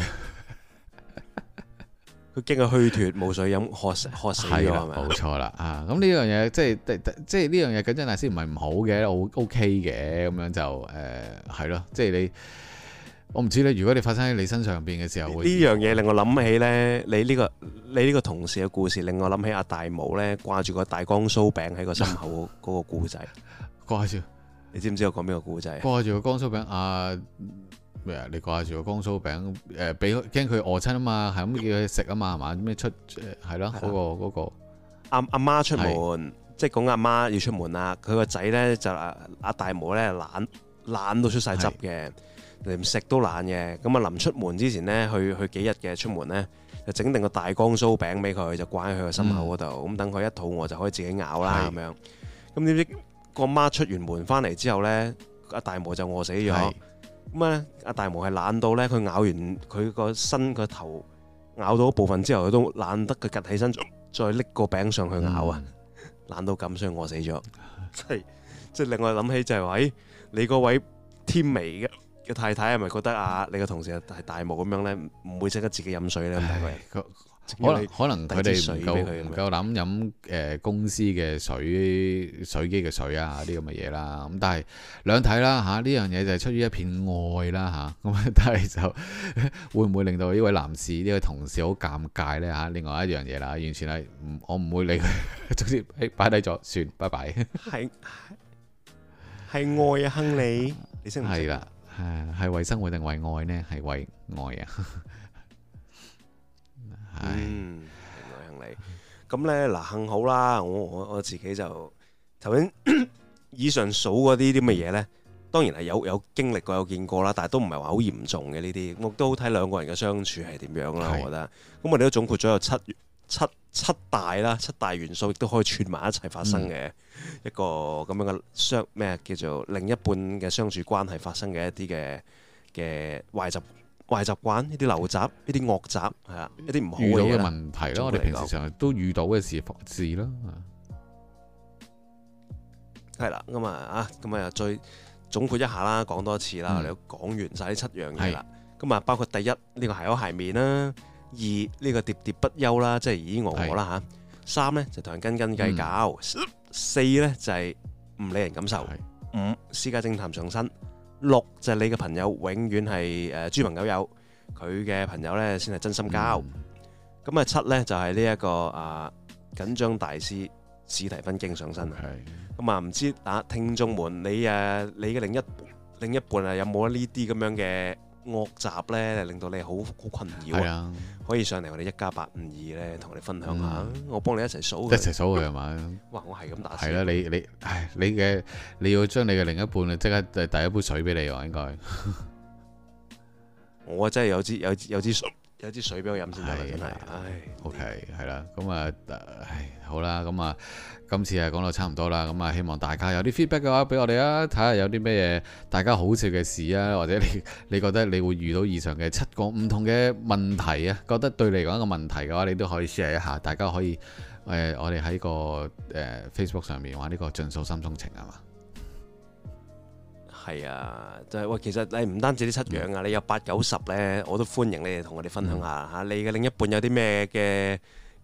佢驚佢虛脫冇水飲，渴死咗係咪？ 冇錯啦啊！咁呢樣嘢即係呢樣嘢緊張大師唔係唔好嘅，OK 嘅咁樣就係咯，即係我唔知咧。如果你發生喺你身上邊嘅時候，呢樣嘢令我諗起咧，你呢個同事嘅故事令我諗起阿大毛咧掛住個大江酥餅喺個心口嗰個故仔。 掛住， 你知唔知我講邊個故仔？ 掛住個江酥餅咩啊？你掛住個江酥餅俾驚佢餓親啊嘛，係咁叫佢食啊嘛，係嘛？咩出係咯？嗰個阿媽出門，即係講阿媽要出門啦。佢個仔咧就阿大毛咧懶到出晒汁嘅，連食都懶嘅。咁啊臨出門之前咧，去幾日嘅出門咧，就整定個大江酥餅俾佢，就掛喺佢個心口嗰度。咁等佢一肚餓就可以自己咬啦咁樣。咁點知個媽出完門翻嚟之後咧，阿大毛就餓死咗。咁啊！阿大毛係懶到咧，佢咬完佢個身個頭咬到一部分之後，佢都懶得佢趌起身，再拎個餅上去咬啊！懶到咁，所以餓死咗。即係令我諗起就係話，你嗰位天微嘅太太係咪覺得你個同事係大毛咁樣咧，唔會識得自己飲水咧？ 可能佢哋唔夠膽飲公司嘅水機嘅水啊啲咁嘅嘢啦。咁但係兩睇啦嚇，呢樣嘢就係出於一片愛啦嚇。咁但係就會唔會令到呢位男士呢位同事好尷尬咧嚇？另外一樣嘢啦，完全係我唔會理佢，總之擺低咗算，拜拜。係愛啊，亨利，你識唔識？ 係啦，係為生活定為愛呢？係為愛啊。 幸你咁咧嗱，幸好啦，我自己就頭先以上數嗰啲咁嘅嘢咧，當然係有經歷過有見過啦，但係都唔係話好嚴重嘅呢啲，我都好睇兩個人嘅相處係點樣啦。我覺得咁我哋都總括咗有七大元素，亦都可以串埋一齊發生嘅一個咁樣嘅咩叫做另一半嘅相處關係發生嘅一啲嘅壞習慣，呢啲陋習，呢啲惡習，係啊，一啲唔好嘅問題咯。我哋平時上都遇到嘅事咯，係啦。咁啊又再總括一下啦，講多一次啦。我哋都講完晒呢7樣嘢啦。咁啊，包括第一呢個鞋口鞋面啦，二呢個喋喋不休啦，即係咦我啦嚇。3咧就同人斤斤計較，4咧就係唔理人感受，5私家偵探上身。6就係你嘅朋友永遠係豬朋狗友，佢嘅朋友咧先係真心交。咁7咧就係呢一個緊張大師史提芬經上身。咁唔知聽眾們你嘅另一半有冇呢啲咁樣嘅惡習咧，令到你好困擾？可以上嚟我哋1+852咧，同我哋分享下。我幫你一齊數佢係嘛？ 哇！我係咁打。 係啦，你要將你嘅另一半即刻遞一杯水俾你喎，應該。 我真係有支水俾我飲先得啦，真係。唉 ，OK， 係啦，咁啊，好啦，咁啊，今次係講到差唔多啦，咁啊，希望大家有啲 feedback 嘅話俾我哋啊，睇下有啲咩嘢大家好笑嘅事啊，或者你覺得你會遇到以上嘅7個唔同嘅問題啊，覺得對你嚟講一個問題嘅話，你都可以 share 一下，大家可以我哋喺個Facebook 上面話呢個盡訴心中情係嘛？ 係啊，就係喂，其實你唔單止啲7樣啊，你有8、9、10咧，我都歡迎你哋同我哋分享下嚇，你嘅另一半有啲咩嘅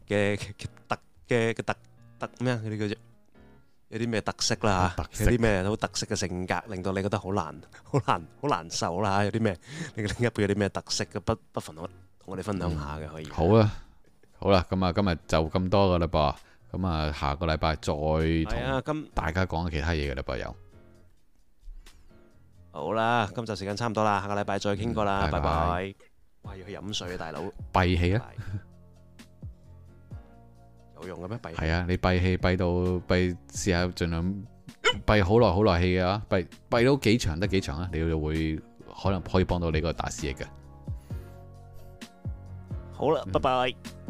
特咩啊？嗰啲叫做有啲咩特色啦嚇，有啲咩好特色嘅性格，令到你覺得好難受啦嚇，有啲咩你嘅另一半有啲咩特色嘅，不妨同我哋分享下嘅可以。 好啦，咁啊今日就咁多噶啦噃，咁啊下個禮拜再同大家講其他嘢嘅啦噃又。 好啦，今集時間差唔多啦，下個禮拜再傾過啦，拜拜。哇，要去飲水啊，大佬！ 閉氣啊！ 有用嘅咩？閉氣係啊，你閉氣閉到試下盡量閉好耐氣嘅話，閉到幾長得幾長啊？你就會可能可以幫到你個大師爺嘅。 好啦，拜拜。